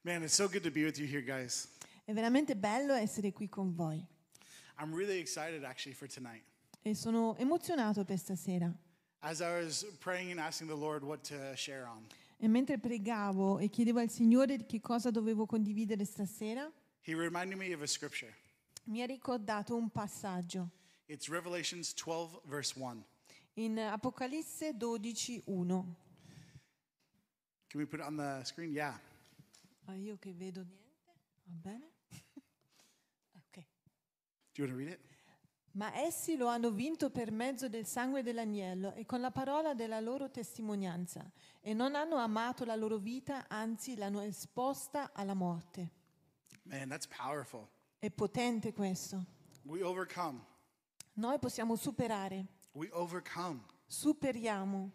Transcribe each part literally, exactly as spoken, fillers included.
Man, it's so good to be with you here, guys. È veramente bello essere qui con voi I'm really excited actually for tonight. e sono emozionato per stasera. As I was praying and asking the Lord what to share on, E mentre pregavo e chiedevo al Signore di che cosa dovevo condividere stasera, He reminded me of a scripture. mi ha ricordato un passaggio It's Revelations twelve, verse one. in Apocalisse dodici uno. Can we put it on the screen? Yeah. Ah, io che vedo niente, va bene? Ok. Do you want to read it? Ma essi lo hanno vinto per mezzo del sangue dell'agnello e con la parola della loro testimonianza, e non hanno amato la loro vita, anzi l'hanno esposta alla morte. Man, that's powerful. È potente questo. We overcome. Noi possiamo superare, We overcome. superiamo,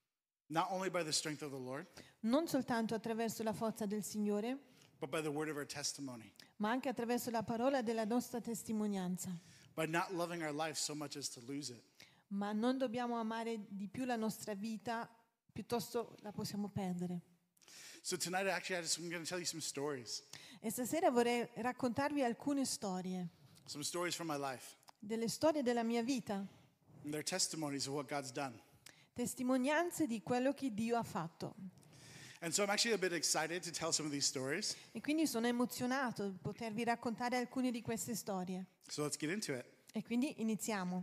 Not only by the strength of the Lord, non soltanto attraverso la forza del Signore, but by the word of our testimony. ma anche attraverso la parola della nostra testimonianza. By not loving our life so much as to lose it. Ma non dobbiamo amare di più la nostra vita, piuttosto la possiamo perdere. So tonight, actually, I just, I'm going to tell you some stories. E stasera vorrei raccontarvi alcune storie, Some stories from my life. delle storie della mia vita, And they're testimonies of what God's done. testimonianze di quello che Dio ha fatto. And so I'm actually a bit excited to tell some of these stories. E quindi sono emozionato di potervi raccontare alcune di queste storie. So let's get into it. E quindi iniziamo.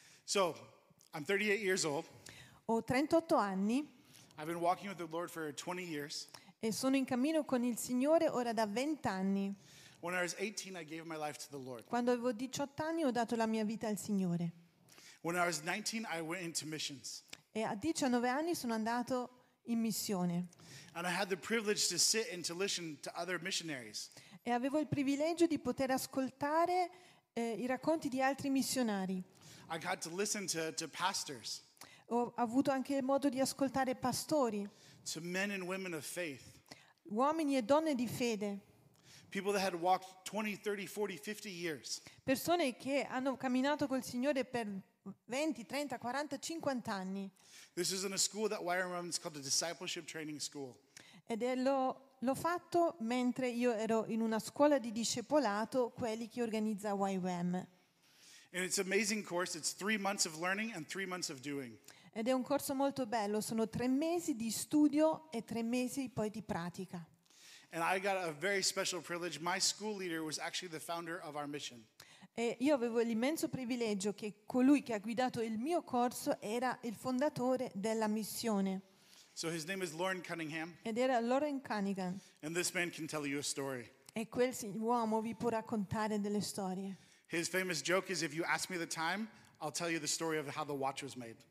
So I'm thirty-eight years old. Ho trentotto anni I've been walking with the Lord for twenty years. e sono in cammino con il Signore ora da venti anni. When I was eighteen, I gave my life to the Lord. Quando avevo diciotto anni ho dato la mia vita al Signore. When I was nineteen, I went into missions. E a diciannove anni sono andato in missione. And I had the privilege to sit and to listen to other missionaries. E avevo il privilegio di poter ascoltare eh, i racconti di altri missionari. I got to listen to, to pastors, Ho avuto anche modo di ascoltare pastori, to men and women of faith, uomini e donne di fede, people that had walked twenty, thirty, forty, fifty years. persone che hanno camminato col Signore per venti, trenta, quaranta, cinquanta anni. This is in a school that Y R M is called a discipleship training school. Ed è lo, l'ho fatto mentre io ero in una scuola di discepolato, quelli che organizza Y W M. And it's an amazing course. It's three months of learning and three months of doing. Ed è un corso molto bello, sono tre mesi di studio e tre mesi poi di pratica. And I got a very special privilege. My school leader was actually the founder of our mission. E io avevo l'immenso privilegio che colui che ha guidato il mio corso era il fondatore della missione. So his name is Lauren Cunningham, Ed era Lauren Cunningham. and this man can tell you a story. E quel si- uomo vi può raccontare delle storie. His famous joke is, if you ask me the time, I'll tell you the story of how the watch was made.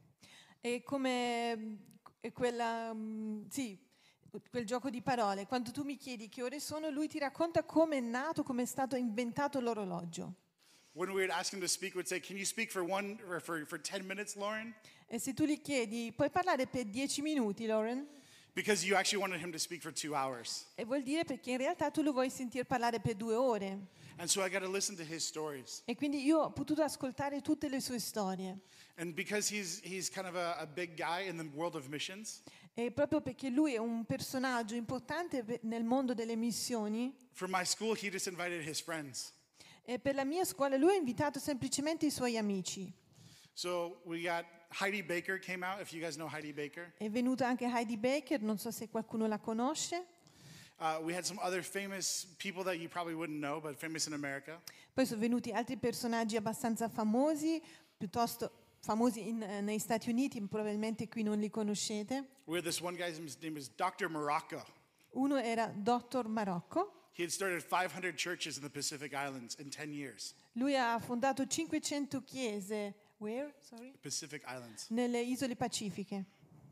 E come mm, è quella, mm, sì, quel gioco di parole. Quando tu mi chiedi che ore sono, lui ti racconta come è nato, come è stato inventato l'orologio. When we would ask him to speak, we'd say, can you speak for one or for, for ten minutes, Lauren? E se tu gli chiedi, puoi parlare per dieci minuti, Lauren? Because you actually wanted him to speak for two hours. E vuol dire perché in realtà tu lo vuoi sentire parlare per due ore. And so I got to listen to his stories. E quindi io ho potuto ascoltare tutte le sue storie. And because he's, he's kind of a, a big guy in the world of missions, E proprio perché lui è un personaggio importante pe- nel mondo delle missioni, for my school, he just invited his friends. e per la mia scuola lui ha invitato semplicemente i suoi amici. So we got Heidi Baker came out, if you guys know Heidi Baker. È venuta anche Heidi Baker, non so se qualcuno la conosce. Uh, we had some other famous people that you probably wouldn't know, but famous in America. Poi sono venuti altri personaggi abbastanza famosi, piuttosto famosi in- eh, negli Stati Uniti, probabilmente qui non li conoscete. We had this one guy's name is Doctor Morocco. Uno era dottor Marocco. He had started five hundred churches in the Pacific Islands in ten years. Lui ha fondato cinquecento chiese, where? Sorry? Pacific Islands. Nelle isole pacifiche.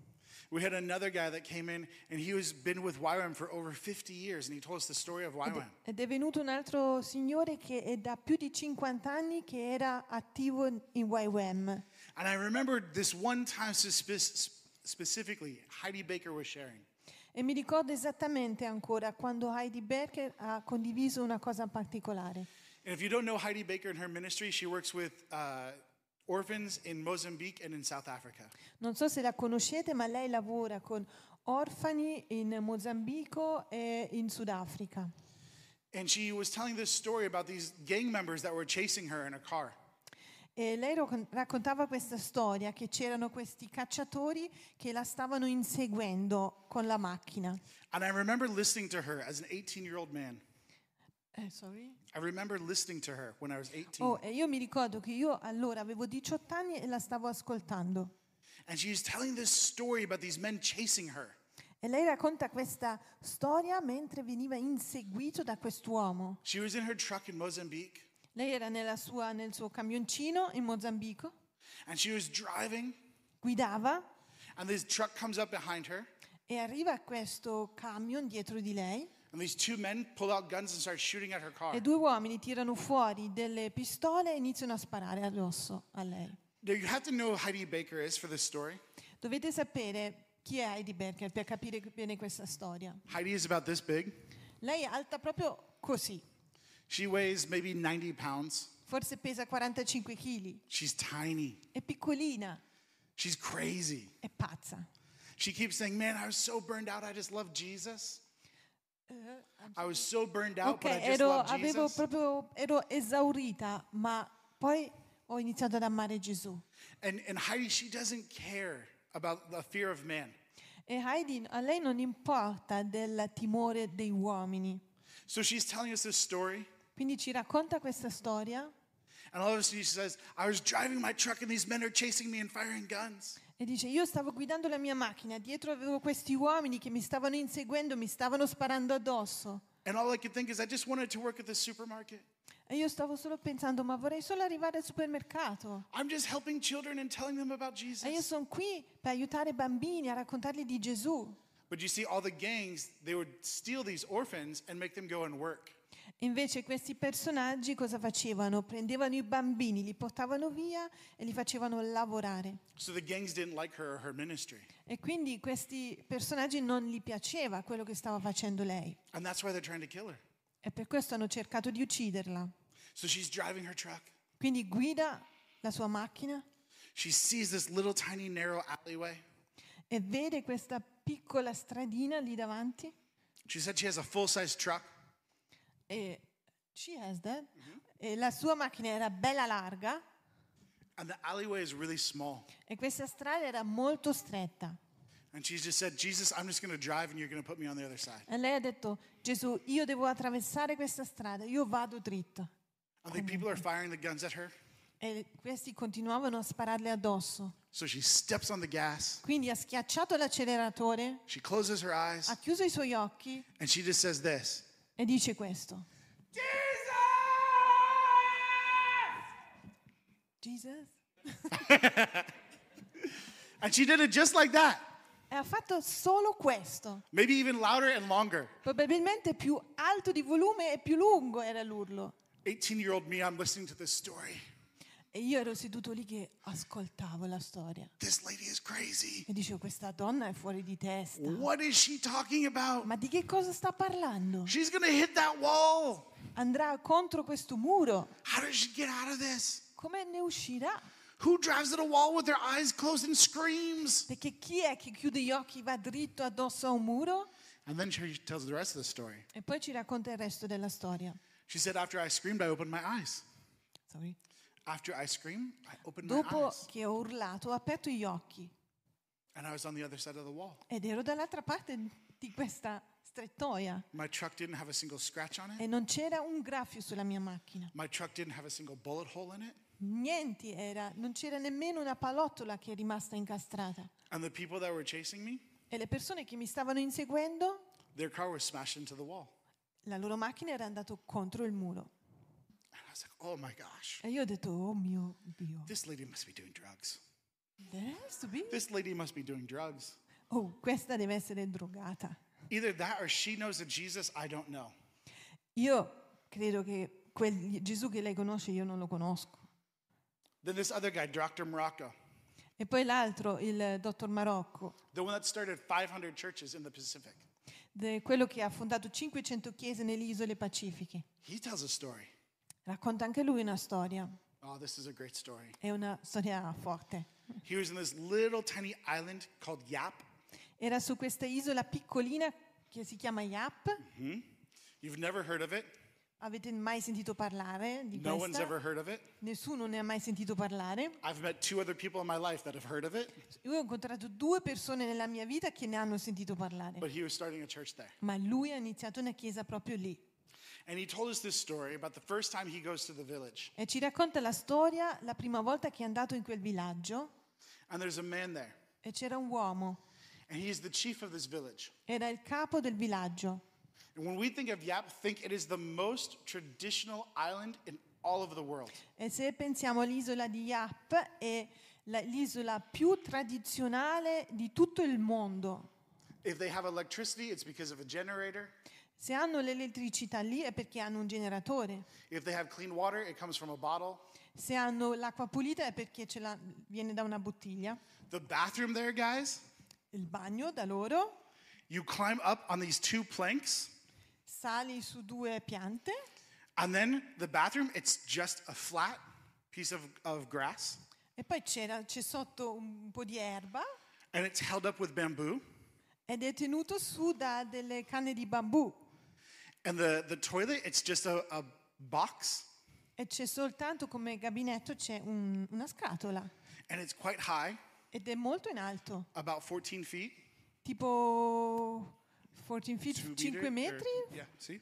We had another guy that came in, and he was been with Y WAM for over fifty years, and he told us the story of Y Ed, WAM. ed è venuto un altro signore che è da più di cinquanta anni che era attivo in Y W M. And I remembered this one time spe- specifically, Heidi Baker was sharing. E mi ricordo esattamente ancora quando Heidi Baker ha condiviso una cosa particolare. And if you don't know Heidi Baker and her ministry, she works with uh, orphans in Mozambique and in South Africa. Non so se la conoscete, ma lei lavora con orfani in Mozambico e in Sudafrica. And she was telling this story about these gang members that were chasing her in a car. E lei ro- raccontava questa storia, che c'erano questi cacciatori che la stavano inseguendo con la macchina. And I remember listening to her as an eighteen-year-old man. Eh, sorry? I remember listening to her when I was eighteen. Oh, e io mi ricordo che io allora avevo diciotto anni e la stavo ascoltando. And she was telling this story about these men chasing her. E lei racconta questa storia mentre veniva inseguito da quest'uomo. She was in her truck in Mozambique, Lei era nella sua- nel suo camioncino in Mozambico, and she was driving, guidava and this truck comes up behind her, e arriva questo camion dietro di lei and these two men pull out guns and start shooting at her car. e due uomini tirano fuori delle pistole e iniziano a sparare addosso a lei. Now, you have to know who Heidi Baker is for this story. Dovete sapere chi è Heidi Berger per capire bene questa storia. Heidi is about this big. Lei è alta proprio così, She weighs maybe ninety pounds. forse pesa quarantacinque chili, She's tiny. è piccolina, She's crazy. è pazza. She keeps saying, "Man, I was so burned out. I just love Jesus. I was so burned out, Ok, but I just ero, love avevo Jesus." proprio, ero esaurita, ma poi ho iniziato ad amare Gesù. And, and Heidi, she doesn't care about the fear of man. E Heidi, a lei non importa del timore dei uomini. So she's telling us this story, Quindi ci racconta questa storia and all of a sudden she says, "I was driving my truck, and these men are chasing me and firing guns." e dice: io stavo guidando la mia macchina, dietro avevo questi uomini che mi stavano inseguendo, mi stavano sparando addosso. And all I could think is, I just wanted to work at the supermarket. E io stavo solo pensando: ma vorrei solo arrivare al supermercato. I'm just helping children and telling them about E io Jesus. sono qui per aiutare i bambini a raccontargli di Gesù. But you see, all the gangs, they would steal these orphans and make them go and work. Invece questi personaggi cosa facevano? Prendevano i bambini, li portavano via e li facevano lavorare. So the gangs didn't like her or her ministry. E quindi questi personaggi non gli piaceva quello che stava facendo lei. And that's why they're trying to kill her. E per questo hanno cercato di ucciderla. So she's driving her truck. Quindi guida la sua macchina She sees this little tiny narrow alleyway. e vede questa piccola stradina lì davanti. She said she has a full-size truck. E, she has that. E la sua macchina era bella larga And the alleyway is really small. e questa strada era molto stretta. And she just said, "Jesus, I'm just going to drive and you're going to put me on the other side." E lei ha detto: Gesù, io devo attraversare questa strada, io vado dritta. And the people are firing the guns at her. E questi continuavano a spararle addosso. So she steps on the gas. Quindi ha schiacciato l'acceleratore, She closes her eyes ha chiuso i suoi occhi and she just says this. e dice questo: Jesus? And she did it just like that. E ha fatto solo questo. Maybe even louder and longer. Probabilmente più alto di volume e più lungo era l'urlo. eighteen-year-old me, I'm listening to this story. E io ero seduto lì che ascoltavo la storia. This lady is crazy. E dicevo: questa donna è fuori di testa. What is she talking about? Ma di che cosa sta parlando? She's going to hit that wall. Andrà contro questo muro. How does she get out of this? Come ne uscirà? Who drives at a wall with their eyes closed and screams? Perché chi è che chiude gli occhi, va dritto addosso a un muro? And then she tells the rest of the story. E poi ci racconta il resto della storia. She said, after I screamed, I opened my eyes. Sorry. After I screamed, I opened my Dopo eyes. che ho urlato, ho aperto gli occhi And I was on the other side of the wall. ed ero dall'altra parte di questa strettoia My truck didn't have a single scratch on it. e non c'era un graffio sulla mia macchina. My truck didn't have a single bullet hole in it. Niente era, non c'era nemmeno una palottola che è rimasta incastrata. And the people that were chasing me, E le persone che mi stavano inseguendo, their car was smashed into the wall. la loro macchina era andata contro il muro. And I was like, oh my gosh, E io ho detto: oh mio Dio, this lady must be doing drugs. there has to be. This lady must be doing drugs. Oh, questa deve essere drogata. Either that or she knows a Jesus I don't know. Io credo che quel Gesù che lei conosce io non lo conosco. Then this other guy, Doctor Morocco, E poi l'altro, il dottor Marocco, the one that started five hundred churches in the Pacific, de- quello che ha fondato cinquecento chiese nelle isole pacifiche. he tells a story. Racconta anche lui una storia. Oh, this is a great story. È una storia forte. He was in this little tiny island called Yap, Era su questa isola piccolina che si chiama Yap. Hmm? You've never heard of it? Avete mai sentito parlare di No one's questa? ever heard of it? Nessuno ne ha mai sentito parlare. I've met two other people in my life that have heard of it, Io ho incontrato due persone nella mia vita che ne hanno sentito parlare, but he was starting a church there. ma lui ha iniziato una chiesa proprio lì. And he told us this story about the first time he goes to the village. E ci racconta la storia la prima volta che è andato in quel villaggio And there's a man there. e c'era un uomo, And he is the chief of this village. era il capo del villaggio. And when we think of Yap, think it is the most traditional island in all of the world. E se pensiamo all'isola di Yap, è la- l'isola più tradizionale di tutto il mondo. If they have electricity, it's because of a generator. Se hanno l'elettricità lì è perché hanno un generatore. If they have clean water, it comes from a bottle. Se hanno l'acqua pulita è perché ce la- viene da una bottiglia. The bathroom there, guys, Il bagno da loro, you climb up on these two planks, sali su due piante and then the bathroom, it's just a flat piece of, of grass, e poi c'era, c'è sotto un po' di erba and it's held up with bamboo. ed è tenuto su da delle canne di bambù And the, the toilet, it's just a, a box, e c'è soltanto come gabinetto c'è un- una scatola and it's quite high, ed è molto in alto, about fourteen feet. tipo quattordici feet, two cinque meter, metri, or- yeah, see?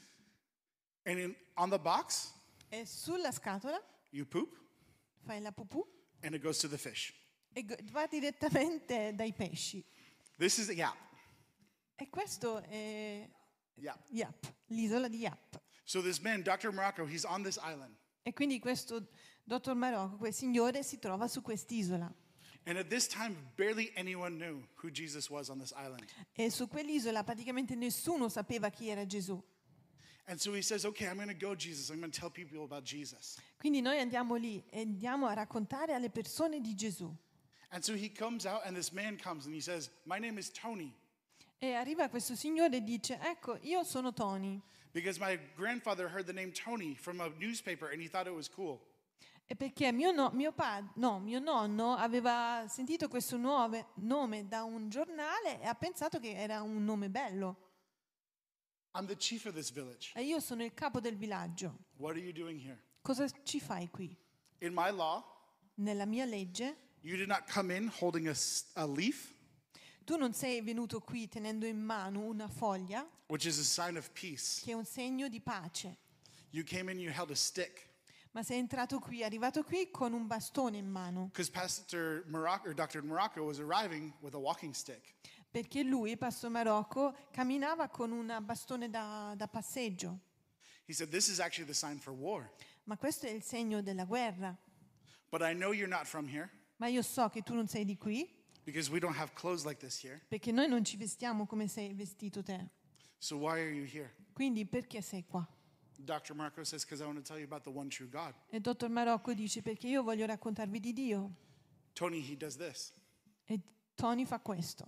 And in, on the box, e sulla scatola you poop, fai la pupù and it goes to the fish. e go- va direttamente dai pesci. This is Yap. E questo è Yap. Yap, l'isola di Yap. So this man, doctor Morocco, he's on this island. E quindi questo dottor Marocco, quel signore, si trova su quest'isola. And at this time, barely anyone knew who Jesus was on this island. E su quell'isola praticamente nessuno sapeva chi era Gesù. And so he says, okay, I'm going to go, Jesus. I'm going to tell people about Jesus. Quindi noi andiamo lì e andiamo a raccontare alle persone di Gesù. And so he comes out, and this man comes, and he says, my name is Tony, E arriva questo signore e dice, ecco, io sono Tony. because my grandfather heard the name Tony from a newspaper, and he thought it was cool. E perché mio, no- mio, pa- no, mio nonno aveva sentito questo nuove- nome da un giornale e ha pensato che era un nome bello. I'm the chief of this village. E io sono il capo del villaggio. What are you doing here? Cosa ci fai qui? In my law, Nella mia legge, you did not come in holding a, s- a leaf, tu non sei venuto qui tenendo in mano una foglia, which is a sign of peace. che è un segno di pace, You came in, you held a stick. ma sei entrato qui, arrivato qui con un bastone in mano, Because Pastor Morocco, or doctor Morocco was arriving with a walking stick. perché lui, Pastor Marocco, camminava con un bastone da, da passeggio. He said, this is actually the sign for war. Ma questo è il segno della guerra. But I know you're not from here, Ma io so che tu non sei di qui, because we don't have clothes like this here. perché noi non ci vestiamo come sei vestito te. So why are you here? Quindi perché sei qua? doctor Marco says, because I want to tell you about the one true God. E il dottor Marocco dice, perché io voglio raccontarvi di Dio. Tony, he does this. E Tony fa questo.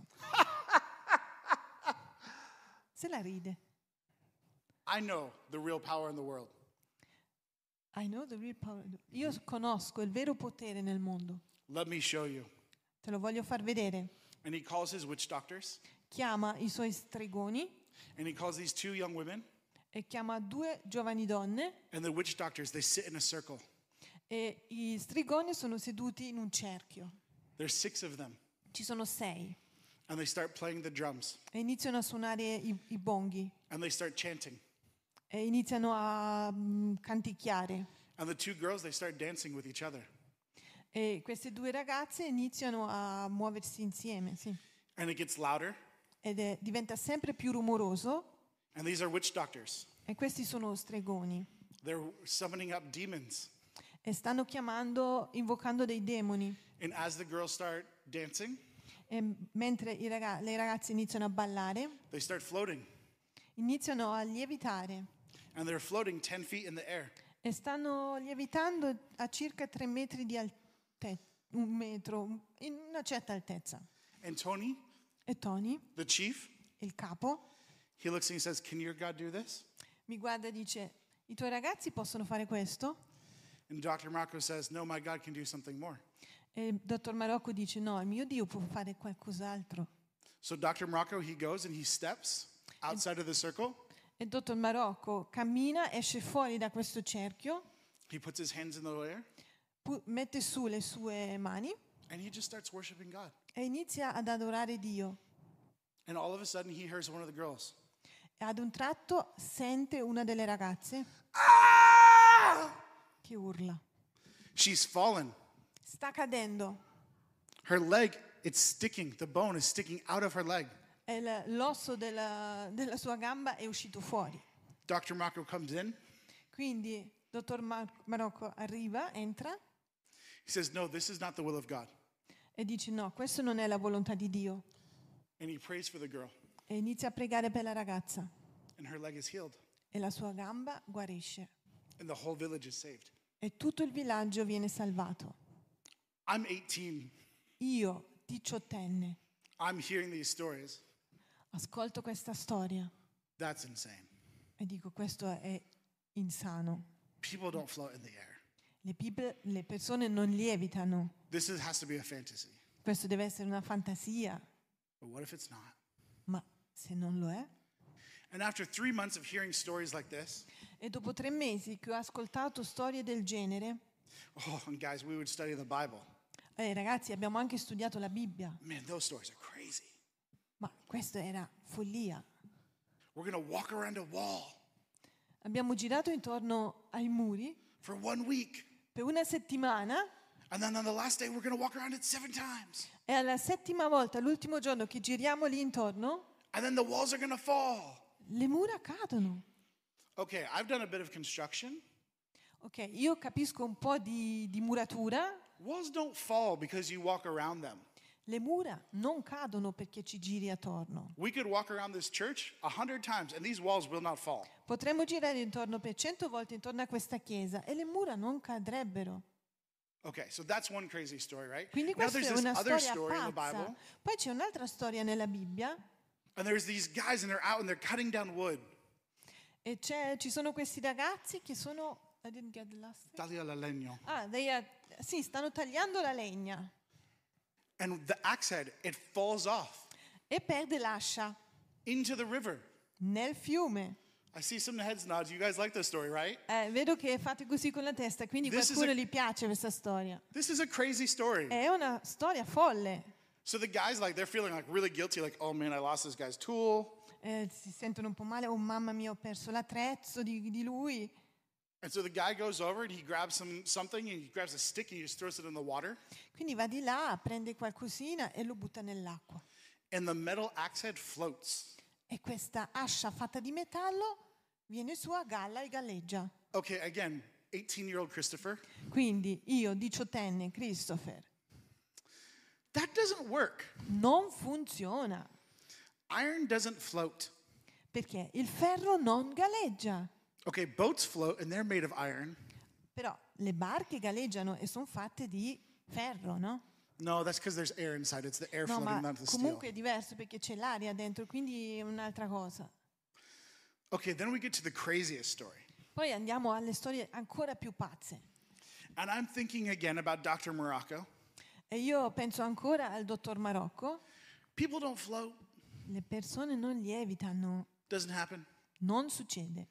Se la ride. I know the real power in the world. I know the real power. Io conosco il vero potere nel mondo. Let me show you. Te lo voglio far vedere. And he calls his witch doctors, Chiama i suoi stregoni and he calls these two young women, e chiama due giovani donne and the witch doctors, they sit in a circle. e i stregoni sono seduti in un cerchio. There's six of them, Ci sono sei and they start playing the drums, e iniziano a suonare i, i bonghi and they start chanting. e iniziano a mm, canticchiare. And the two girls, they start dancing with each other. E queste due ragazze iniziano a muoversi insieme, sì. And it gets louder, Ed è, diventa sempre più rumoroso and these are witch doctors. e questi sono stregoni They're summoning up demons. e stanno chiamando, invocando dei demoni. And as the girls start dancing, E mentre i raga- le ragazze iniziano a ballare, they start floating. iniziano a lievitare And they're floating ten feet in the air. e stanno lievitando a circa tre metri di altezza, un metro, in una certa altezza. And Tony, E Tony, the chief, il capo, he looks and he says, can your God do this? mi guarda e dice, i tuoi ragazzi possono fare questo? And doctor Marco says, no, my God can do something more. E il dottor Marocco dice, no, il mio Dio può fare qualcos'altro. So doctor Morocco, he goes and he steps outside of the circle. E il dottor Marocco cammina, esce fuori da questo cerchio, He puts his hands in the air pu- mette su le sue mani and he just starts worshiping God. e inizia ad adorare Dio. And all of a sudden he hears one of the girls. E ad un tratto sente una delle ragazze Ah! che urla. She's fallen. Sta cadendo. Her leg, it's sticking. The bone is sticking out of her leg. E l- l'osso della, della sua gamba è uscito fuori. doctor Marco comes in. Quindi il dottor Mar- Marocco arriva, entra He says, no, this is not the will of God. e dice no, questo non è la volontà di Dio. And he prays for the girl. E inizia a pregare per la ragazza And her leg is healed. e la sua gamba guarisce. And the whole village is saved. E tutto il villaggio viene salvato. I'm eighteen. Io, diciottenne, I'm hearing these stories. ascolto questa storia That's insane. e dico questo è insano. People don't float in the air. Le, pipe- le persone non lievitano. This is, has to be a fantasy. Questo deve essere una fantasia, But what if it's not? ma se non lo è? And after three months of hearing stories like this, E dopo tre mesi che ho ascoltato storie del genere, oh, and guys, we would study the Bible. eh, ragazzi, abbiamo anche studiato la Bibbia, Man, those stories are crazy. ma questo era follia. We're going to walk around a wall Abbiamo girato intorno ai muri for one week. per una settimana And then on the last day, we're going to walk around it seven times. e alla settima volta, l'ultimo giorno che giriamo lì intorno, And then the walls are going to fall. le mura cadono. Okay, I've done a bit of construction. Ok, io capisco un po' di, di muratura. Walls don't fall because you walk around them. Le mura non cadono perché ci giri attorno. We could walk around this church a hundred times and these walls will not fall. Potremmo girare intorno per cento volte intorno a questa chiesa e le mura non cadrebbero. Okay, so that's one crazy story, right? Quindi Now questa there's è this una other storia story in the pazza. Bible, Poi c'è un'altra storia nella Bibbia and there's these guys and they're out and they're cutting down wood. e c'è- ci sono questi ragazzi che sono... I didn't get the last thing. Taglia la legno. Ah, they are- sì, stanno tagliando la legna And the axe head, it falls off e perde l'ascia into the river. nel fiume. I see some heads nods. You guys like this story, right? Eh, vedo che fate così con la testa, quindi This is qualcuno a- gli piace questa storia. This is a crazy story. È una storia folle. So the guys, like, they're feeling like really guilty, like, oh man, I lost this guy's tool. Eh, si sentono un po' male, oh mamma mia, ho perso l'attrezzo di, di lui. And so the guy goes over and he grabs some something and he grabs a stick and he just throws it in the water. Quindi va di là, prende qualcosina e lo butta nell'acqua. And the metal axe head floats. E questa ascia fatta di metallo viene su a galla e galleggia. Okay, again, eighteen-year-old Christopher. Quindi io, diciottenne, Christopher, That doesn't work. non funziona Iron doesn't float. perché il ferro non galleggia. Okay, boats float and they're made of iron. Però le barche galleggiano e sono fatte di ferro, no? No, that's because there's air inside. It's the air No, floating, ma not the steel. comunque è diverso perché c'è l'aria dentro, quindi è un'altra cosa. Okay, then we get to the craziest story. Poi andiamo alle storie ancora più pazze. And I'm thinking again about doctor Morocco. E io penso ancora al dottor Marocco. People don't float. Le persone non lievitano, Doesn't happen. non succede.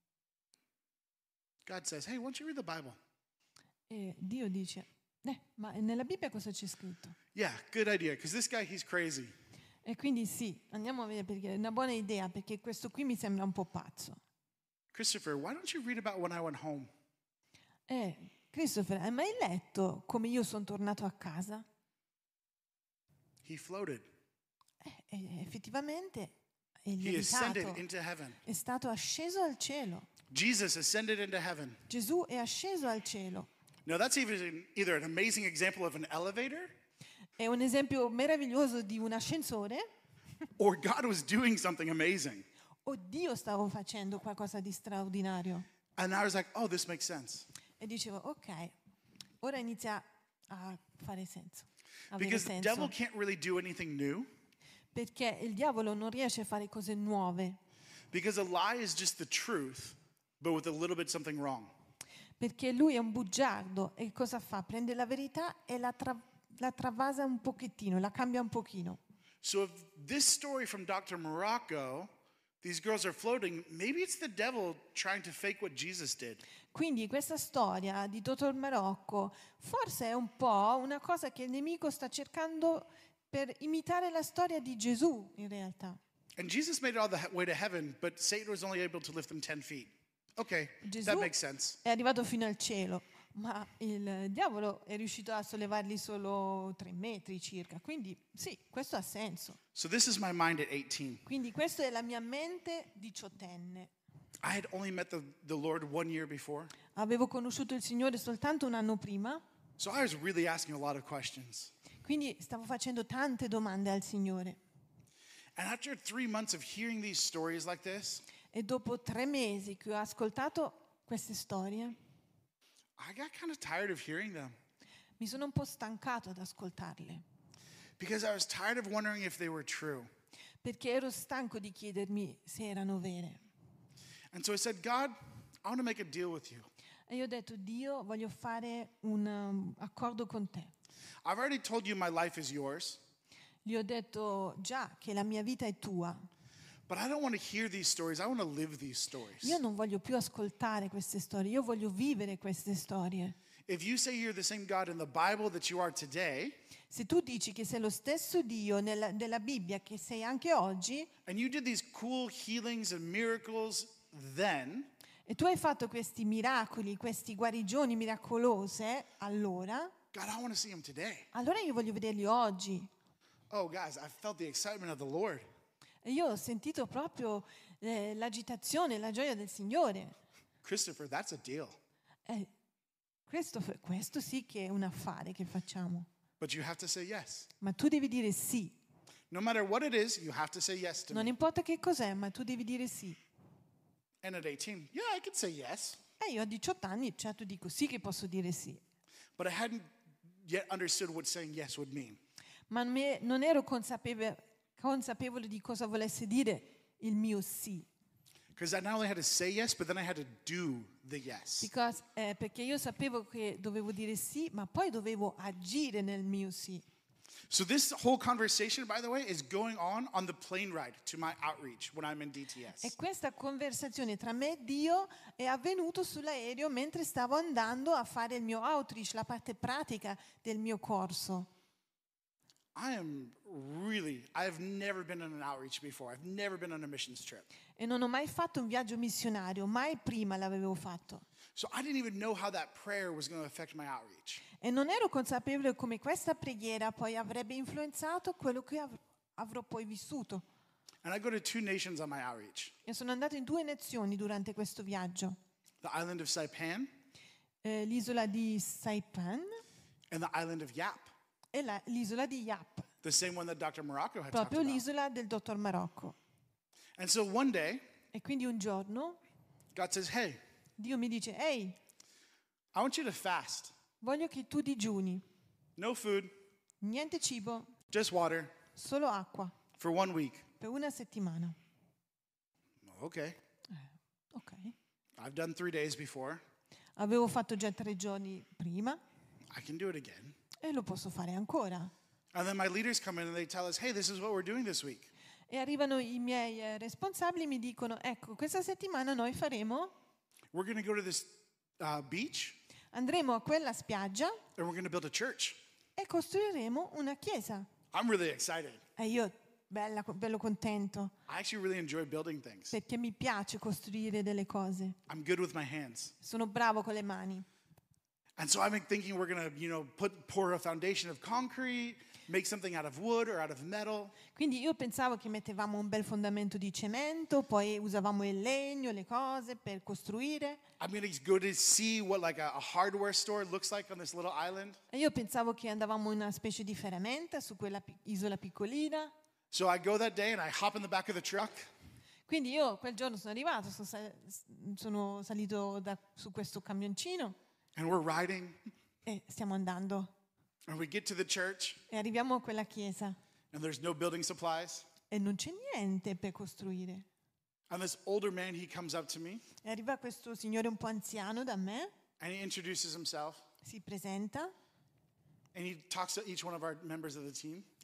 God says, hey, why don't you read the Bible? E Dio dice, eh, ma nella Bibbia cosa c'è scritto? Yeah, good idea, because this guy, he's crazy. E quindi sì, andiamo a vedere perché è una buona idea, perché questo qui mi sembra un po' pazzo. Christopher, why don't you read about when I went home? Eh, Christopher, hai mai letto come io sono tornato a casa? He floated. Eh, e effettivamente è He ascended lievitato, into heaven. è stato asceso al cielo. Jesus ascended into heaven. Gesù è asceso al cielo. Now, that's even either an amazing example of an elevator È un esempio meraviglioso di un ascensore or God was doing something amazing. o Dio stava facendo qualcosa di straordinario. And I was like, oh, this makes sense. E dicevo, ok, ora inizia a fare senso. a avere Because the devil senso. can't really do anything new. Perché il diavolo non riesce a fare cose nuove. Because a lie is just the truth, but with a little bit something wrong. Perché lui è un bugiardo e cosa fa? Prende la verità e la, tra- la travasa un pochettino, la cambia un pochino. So if this story from doctor Morocco, these girls are floating, maybe it's the devil trying to fake what Jesus did. Quindi questa storia di dottor Marocco forse è un po' una cosa che il nemico sta cercando per imitare la storia di Gesù in realtà. And Jesus made it all the he- way to heaven, but Satan was only able to lift him ten feet. Okay, Gesù that makes sense. è arrivato fino al cielo, ma il diavolo è riuscito a sollevarli solo tre metri circa. Quindi sì, questo ha senso. So this is my mind at eighteen. Quindi questa è la mia mente diciottenne. I had only met the, the Lord one year before. Avevo conosciuto il Signore soltanto un anno prima, So I was really asking a lot of questions. quindi stavo facendo tante domande al Signore. And after three months of hearing these stories like this, E dopo tre mesi che ho ascoltato queste storie, I got kind of tired of hearing them mi sono un po' stancato ad ascoltarle, because I was tired of wondering if they were true. perché ero stanco di chiedermi se erano vere. And so I said, God, I want to make a deal with you. E io ho detto, Dio, voglio fare un um, accordo con te. I've already told you my life is yours, Gli ho detto già che la mia vita è tua. but I don't want to hear these stories. I want to live these stories. Io non voglio più ascoltare queste storie, io voglio vivere queste storie. If you say you're the same God in the Bible that you are today, Se tu dici che sei lo stesso Dio nella, della Bibbia che sei anche oggi, and you did these cool healings and miracles then, e tu hai fatto questi miracoli, queste guarigioni miracolose, allora, God, I want to see them today. allora io voglio vederli oggi. Oh, guys, I felt the excitement of the Lord. E io ho sentito proprio eh, l'agitazione, la gioia del Signore. Christopher, that's a deal. Eh, questo, questo sì che è un affare che facciamo. But you have to say yes. Ma tu devi dire sì. No matter what it is, you have to say yes to Non me. importa che cos'è, ma tu devi dire sì. And at eighteen, yeah, I could say yes. E io a diciotto anni, certo dico sì che posso dire sì. But I hadn't yet understood what saying yes would mean. Ma me- non ero consapevole, consapevole di cosa volesse dire il mio sì. Because I not only had to say yes, but then I had to do the yes. Because, eh, perché io sapevo che dovevo dire sì, ma poi dovevo agire nel mio sì. So this whole conversation, by the way, is going on on the plane ride to my outreach when I'm in D T E S. questa conversazione tra me e Dio è avvenuta sull'aereo mentre stavo andando a fare il mio outreach, la parte pratica del mio corso. I am really, I've never been on an outreach before. I've never been on a missions trip. E non ho mai fatto un viaggio missionario, mai prima l'avevo fatto. So I didn't even know how that prayer was going to affect my outreach. E non ero consapevole come questa preghiera poi avrebbe influenzato quello che av- avrò poi vissuto. And I go to two nations on my outreach. E sono andata in due nazioni durante questo viaggio. The island of Saipan Eh, l'isola di Saipan and the island of Yap. e la- l'isola di Yap, The same one that doctor Morocco had talked proprio about. l'isola del dottor Marocco. And so one day, E quindi un giorno God says, hey, Dio mi dice, ehi, I want you to fast. voglio che tu digiuni, No food, niente cibo, just water solo acqua, for one week. per una settimana. Okay. Ok. I've done three days before. Avevo fatto già tre giorni prima I can do it again. e lo posso fare ancora. And then my leaders come in and they tell us, hey, this is what we're doing this week. E arrivano i miei eh, responsabili e mi dicono, ecco, questa settimana noi faremo, We're going to go to this uh, beach andremo a quella spiaggia and we're going to build a church. e costruiremo una chiesa. I'm really excited. E io, bella, bello contento, I actually really enjoy building things. perché mi piace costruire delle cose. I'm good with my hands. Sono bravo con le mani. And so I'm thinking we're going to, you know, put pour a foundation of concrete, make something out of wood or out of metal. Quindi io pensavo che mettevamo un bel fondamento di cemento, poi usavamo il legno, le cose per costruire. I'm going to go to see what like a, a hardware store looks like on this little island. E io pensavo che andavamo in una specie di ferramenta su quella pi- isola piccolina. So I go that day and I hop in the back of the truck Quindi io quel giorno sono arrivato, sono, sal- sono salito da- su questo camioncino and we're riding e stiamo andando. and we get to the church E arriviamo a quella chiesa and there's no building supplies. e non c'è niente per costruire. And this older man, he comes up to me E arriva questo signore un po' anziano da me, and he introduces himself si presenta and he talks to each one of our members of the team.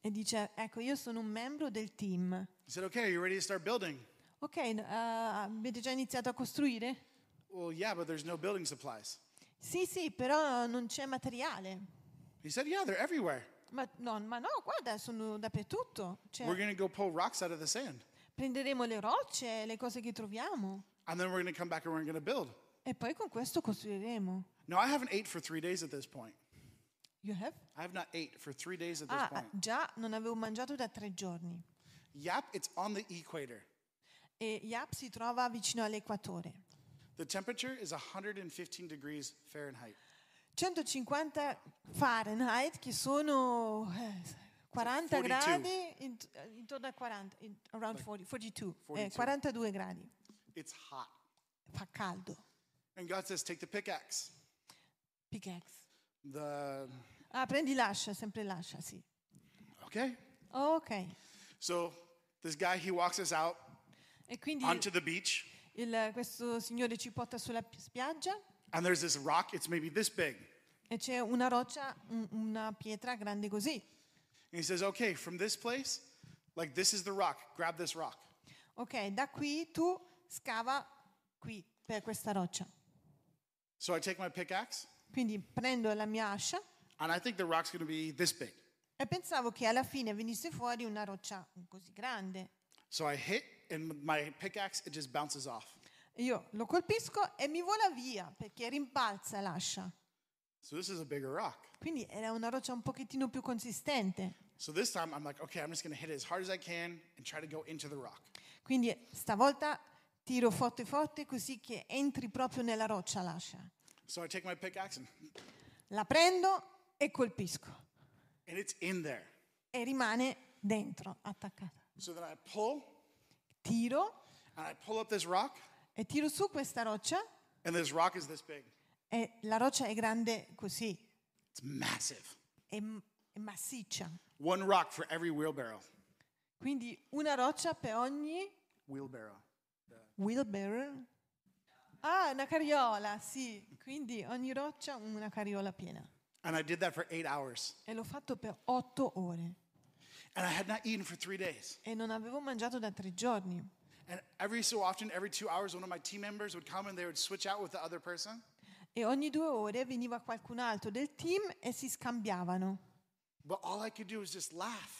e dice, ecco, io sono un membro del team. He said, okay, are you ready to start building? Ok, uh, avete già iniziato a costruire? Well, yeah, but there's no building supplies. Sì, sì, però non c'è materiale. He said, yeah, they're everywhere. Ma no, ma no, guarda, sono dappertutto. Cioè, We're going to go pull rocks out of the sand. prenderemo le rocce, le cose che troviamo, And then we're going to come back and we're going to build. e poi con questo costruiremo. Now, I haven't ate for three days at this point. You have? I have not ate for three days at this Ah, point. già non avevo mangiato da tre giorni. Yap, it's on the equator. E Yap si trova vicino all'equatore. The temperature is one hundred fifteen degrees Fahrenheit. centocinquanta Fahrenheit, che sono eh, quaranta quarantadue. gradi, int- intorno a quaranta, in- around quaranta, quarantadue, eh, quarantadue. quarantadue gradi. It's hot. Fa caldo. And God says, take the pickaxe. Pickaxe. The, Ah, prendi l'ascia, sempre l'ascia, sì. okay. Ok. So this guy, he walks us out E quindi onto the beach. il- questo signore ci porta sulla pi- spiaggia And there's this rock, it's maybe this big. e c'è una roccia, un- una pietra grande così. And he says, okay, from this place, like this is the rock, grab this rock. Ok, da qui tu scava qui per questa roccia. So I take my pickaxe, Quindi prendo la mia ascia and I think the rock's going to be this big. e pensavo che alla fine venisse fuori una roccia così grande. So I hit, and my pickaxe, it just bounces off. Io lo colpisco e mi vola via perché rimbalza l'ascia. So this is a bigger rock. Quindi era una roccia un pochettino più consistente. So this time I'm like, okay, I'm just going to hit it as hard as I can and try to go into the rock. Quindi stavolta tiro forte forte così che entri proprio nella roccia l'ascia. So I take my pickaxe and, La prendo e colpisco and it's in there. e rimane dentro, attaccata. So then I pull Tiro and I pull up this rock, e tiro su questa roccia and this rock is this big. e la roccia è grande così, It's massive. è, è massiccia. One rock for every wheelbarrow. Quindi una roccia per ogni Wheelbarrow. wheelbarrow. Ah, una carriola, sì. Quindi ogni roccia una carriola piena. And I did that for eight hours. E l'ho fatto per otto ore. And I had not eaten for three days. E non avevo mangiato da tre giorni. And every so often, every two hours, one of my team members would come and they would switch out with the other person. E ogni due ore veniva qualcun altro del team e si scambiavano. But all I could do was just laugh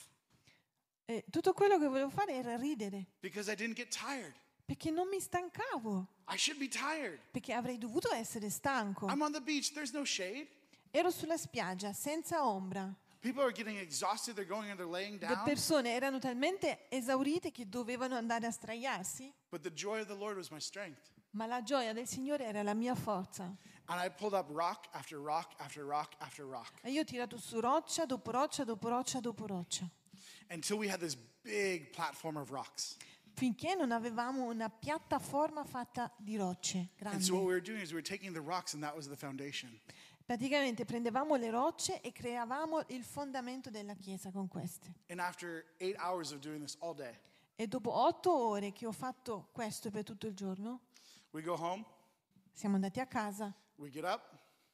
E tutto quello che volevo fare era ridere. because I didn't get tired. Perché non mi stancavo. I should be tired. Perché avrei dovuto essere stanco. I'm on the beach, there's no shade. Ero sulla spiaggia, senza ombra. People are getting exhausted, they're going and they're laying Le down. persone erano talmente esaurite che dovevano andare a straiarsi. But the joy of the Lord was my strength. Ma la gioia del Signore era la mia forza. And I pulled up rock after rock after rock after rock E io ho tirato su roccia dopo roccia dopo roccia dopo roccia. until we had this big platform of rocks. Finché non avevamo una piattaforma fatta di rocce And so what grandi. we were doing is we were taking the rocks and that was the foundation. Praticamente prendevamo le rocce e creavamo il fondamento della chiesa con queste. And after eight hours of doing this all day, E dopo otto ore che ho fatto questo per tutto il giorno, we go home, siamo andati a casa, we get up,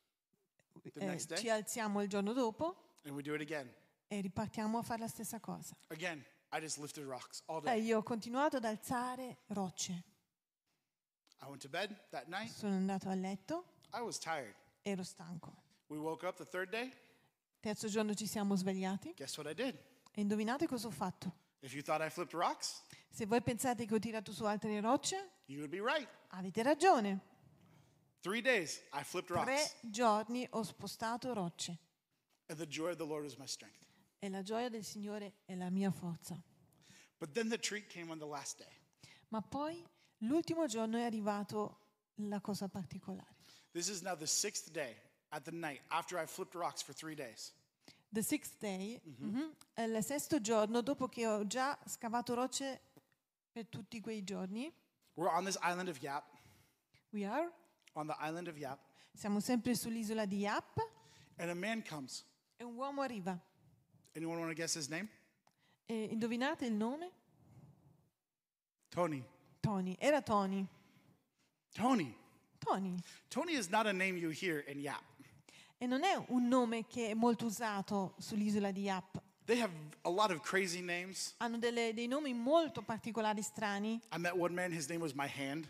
the eh, next day, ci alziamo il giorno dopo and we do it again. e ripartiamo a fare la stessa cosa. Again, I just lifted rocks all E day. io ho continuato ad alzare rocce. I went to bed that night. Sono andato a letto, I was tired. ero stanco. We woke up the third day. Terzo giorno ci siamo svegliati Guess what I did? e indovinate cosa ho fatto? If you thought I flipped rocks, Se voi pensate che ho tirato su altre rocce, you would be right. avete ragione. Three days, I flipped Tre rocks. giorni ho spostato rocce And the joy of the Lord was my strength. e la gioia del Signore è la mia forza. But then the treat came on the last day. Ma poi l'ultimo giorno è arrivato la cosa particolare. This is now the sixth day at the night after I flipped rocks for three days. The sixth day, mhm, è il sesto giorno dopo che ho già scavato rocce per tutti quei giorni. We're on this island of Yap, We are. on the island of Yap, Siamo sempre sull'isola di Yap and a man comes. e un uomo arriva. Anyone want to guess his name? E indovinate il nome? Tony. Tony. Era Tony. Tony. Tony. Tony is not a name you hear in Yap. E non è un nome che è molto usato sull'isola di Yap. They have a lot of crazy names. Hanno delle- dei nomi molto particolari, strani. I met one man, his name was My Hand.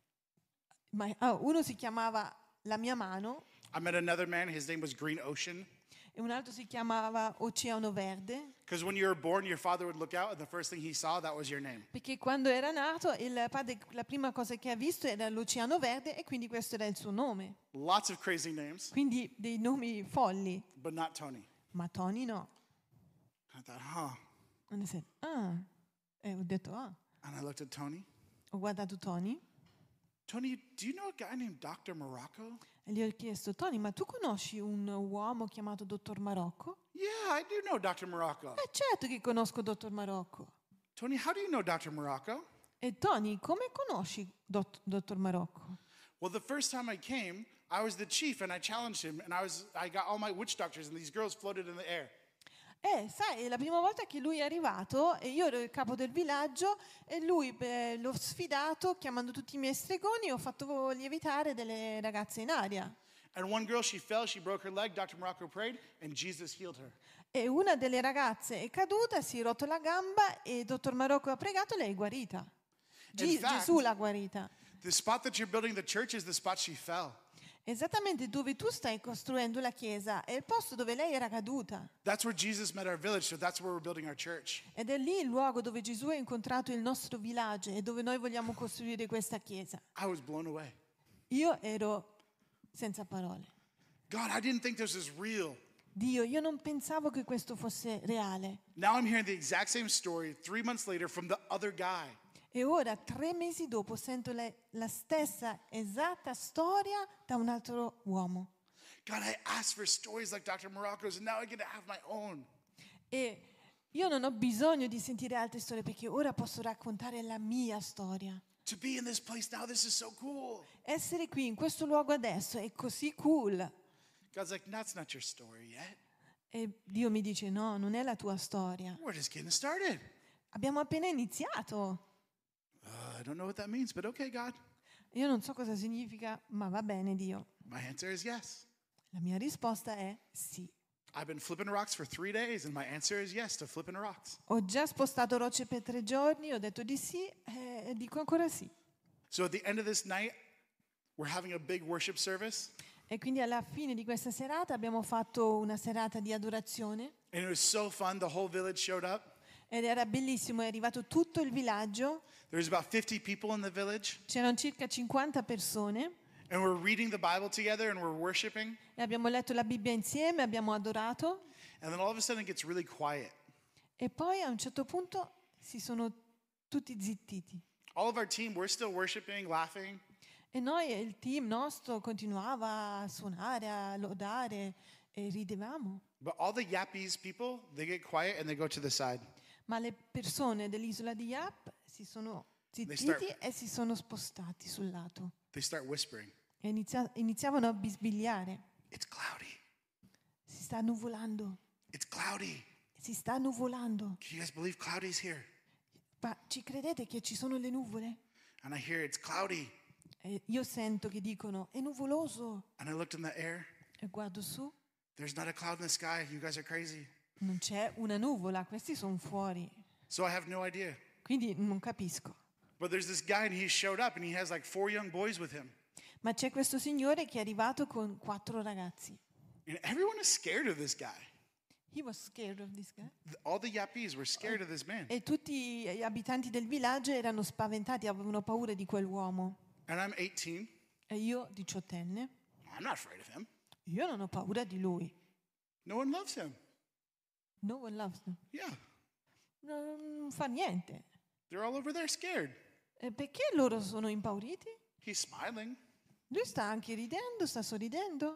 Ma, ah, uno si chiamava La mia mano I met another man, his name was Green Ocean. e un altro si chiamava Oceano Verde, Because when you were born, your father would look out, and the first thing he saw, that was your name. perché quando era nato il padre la prima cosa che ha visto era l'Oceano Verde e quindi questo era il suo nome. Lots of crazy names, Quindi dei nomi folli, but not Tony. ma Tony no. I thought, huh. And I said, ah. E ho detto, ah. And I looked at Tony. Ho guardato Tony Tony, do you know a guy named doctor Morocco? e gli ho chiesto, Tony, ma tu conosci un uomo chiamato Dottor Marocco? Yeah, I do know doctor Morocco. Eh certo che conosco Dottor Marocco. Tony, how do you know doctor Morocco? E Tony, come conosci Dott- Dottor Marocco? Well, the first time I came, I was the chief, and I challenged him, and I was I got all my witch doctors, and these girls floated in the air. Eh, sai, è la prima volta che lui è arrivato e io ero il capo del villaggio e lui beh, l'ho sfidato chiamando tutti i miei stregoni e ho fatto lievitare delle ragazze in aria. And one girl, she fell, she broke her leg. doctor Morocco prayed, and Jesus healed her. E una delle ragazze è caduta, si è rotto la gamba e il dottor Marocco ha pregato e lei è guarita. Ge- In fact- Gesù l'ha guarita. The spot that you're building the church is the spot she fell. Esattamente dove tu stai costruendo la chiesa è il posto dove lei era caduta. That's where Jesus met our village, so that's where we're building our church. Ed è lì il luogo dove Gesù ha incontrato il nostro villaggio e dove noi vogliamo costruire questa chiesa. I was blown away. Io ero senza parole. God, I didn't think this was real. Dio, io non pensavo che questo fosse reale. Now I'm hearing the exact same story three months later from the other guy. E ora, tre mesi dopo, sento le- la stessa esatta storia da un altro uomo. God, I asked for stories like doctor Morocco's, and now I get to have my own. E io non ho bisogno di sentire altre storie perché ora posso raccontare la mia storia. To be in this place now, this is so cool. Essere qui in questo luogo adesso è così cool. God's like, that's not your story yet. E Dio mi dice, no, non è la tua storia. We're just getting started. Abbiamo appena iniziato. Uh, I don't know what that means, but okay, God. Io non so cosa significa, ma va bene, Dio. My answer is yes. La mia risposta è sì. I've been flipping rocks for three days, and my answer is yes to flipping rocks. Ho già spostato rocce per tre giorni, ho detto di sì e dico ancora sì. So at the end of this night, we're having a big worship service, E quindi alla fine di questa serata abbiamo fatto una serata di adorazione and it was so fun. The whole village showed up. ed era bellissimo, è arrivato tutto il villaggio, There's about fifty people in the village, c'erano circa cinquanta persone and we're reading the Bible together, and we're worshiping. e abbiamo letto la Bibbia insieme, abbiamo adorato And then all of a sudden, it gets really quiet. e poi a un certo punto si sono tutti zittiti. All of our team, we're still worshiping, laughing, E noi, il team nostro, continuava a suonare, a lodare e ridevamo. but all the Yappies people, they get quiet and they go to the side. Ma le persone dell'isola di Yap si sono zittiti start- e si sono spostati sul lato They start whispering, e inizia- iniziavano a bisbigliare. "It's cloudy. Si sta nuvolando, It's cloudy. si sta nuvolando. Can you guys believe cloudy's here?" Ma ci credete che ci sono le nuvole? And I hear, "It's cloudy." E io sento che dicono, è nuvoloso. And I looked in the air. E guardo su, There's not a cloud in the sky. You guys are crazy. non c'è una nuvola, questi sono fuori. So I have no idea. Quindi non capisco. But there's this guy, and he showed up, and he has like four young boys with him. Ma c'è questo signore che è arrivato con quattro ragazzi. And everyone is scared of this guy. He was scared of this guy. Th- All the Yappies were scared of this man. E tutti gli abitanti del villaggio erano spaventati, avevano paura di quell'uomo. And I'm eighteen. E io, diciottenne, I'm not afraid of him. io non ho paura di lui. No one loves him. No one loves him. Yeah. Non fa niente. They're all over there scared. E perché loro sono impauriti? He's smiling. Lui sta anche ridendo, sta sorridendo.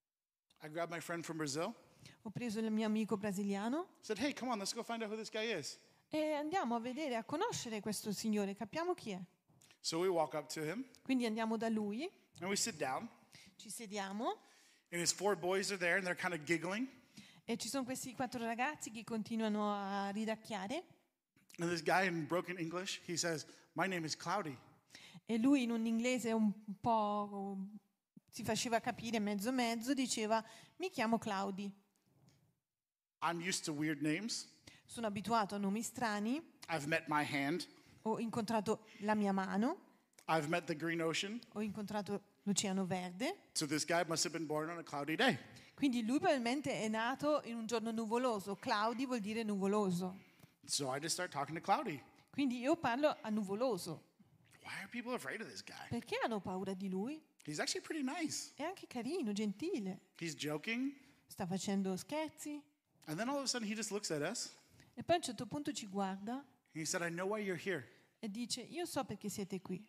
I grabbed my friend from Brazil. Ho preso il mio amico brasiliano Said, "Hey, come on, let's go find out who this guy is." e andiamo a vedere, a conoscere questo signore, capiamo chi è. So we walk up to him, Quindi andiamo da lui, and we sit down. ci sediamo And his four boys are there, and they're kind of giggling. e ci sono questi quattro ragazzi che continuano a ridacchiare And this guy in broken English, he says, "My name is Cloudy." e lui in un inglese un po' si faceva capire mezzo mezzo, diceva mi chiamo Claudi. I'm used to weird names. Sono abituato a nomi strani, I've met my hand. ho incontrato la mia mano, I've met the green ocean. ho incontrato l'Oceano Verde. So this guy must have been born on a cloudy day. Quindi lui probabilmente è nato in un giorno nuvoloso. Cloudy vuol dire nuvoloso. So I just start talking to Cloudy. Quindi io parlo a nuvoloso. Why are people afraid of this guy? Perché hanno paura di lui? He's actually pretty nice. È anche carino, gentile. He's joking. Sta facendo scherzi. And then all of a sudden he just looks at us. E poi a un certo punto ci guarda And he said, I know why you're here. e dice, io so perché siete qui.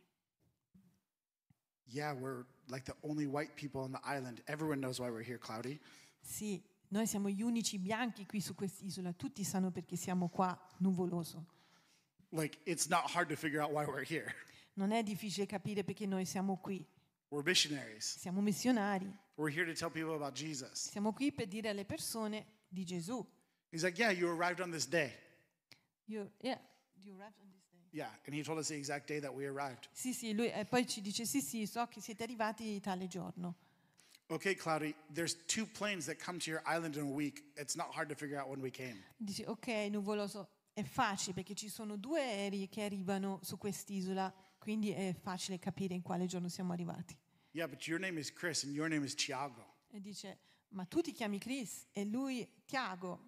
Yeah, we're like the only white people on the island. Everyone knows why we're here, Cloudy. Sì, noi siamo gli unici bianchi qui su quest'isola. Tutti sanno perché siamo qua, nuvoloso. Like, it's not hard to figure out why we're here. Non è difficile capire perché noi siamo qui. We're missionaries. Siamo missionari. We're here to tell people about Jesus. Siamo qui per dire alle persone di Gesù. He's like, yeah, you arrived on this day. You, yeah, you arrived on this day. Yeah, and he told us the exact day that we arrived. Sì, sì, lui e poi ci dice sì, sì, so che siete arrivati tale giorno. Okay, Cloudy, there's two planes that come to your island in a week. It's not hard to figure out when we came. Dice ok, nuvoloso, è facile perché ci sono due aerei che arrivano su quest'isola, quindi è facile capire in quale giorno siamo arrivati. Yeah, but your name is Chris and your name is Tiago. E dice, ma tu ti chiami Chris e lui Tiago.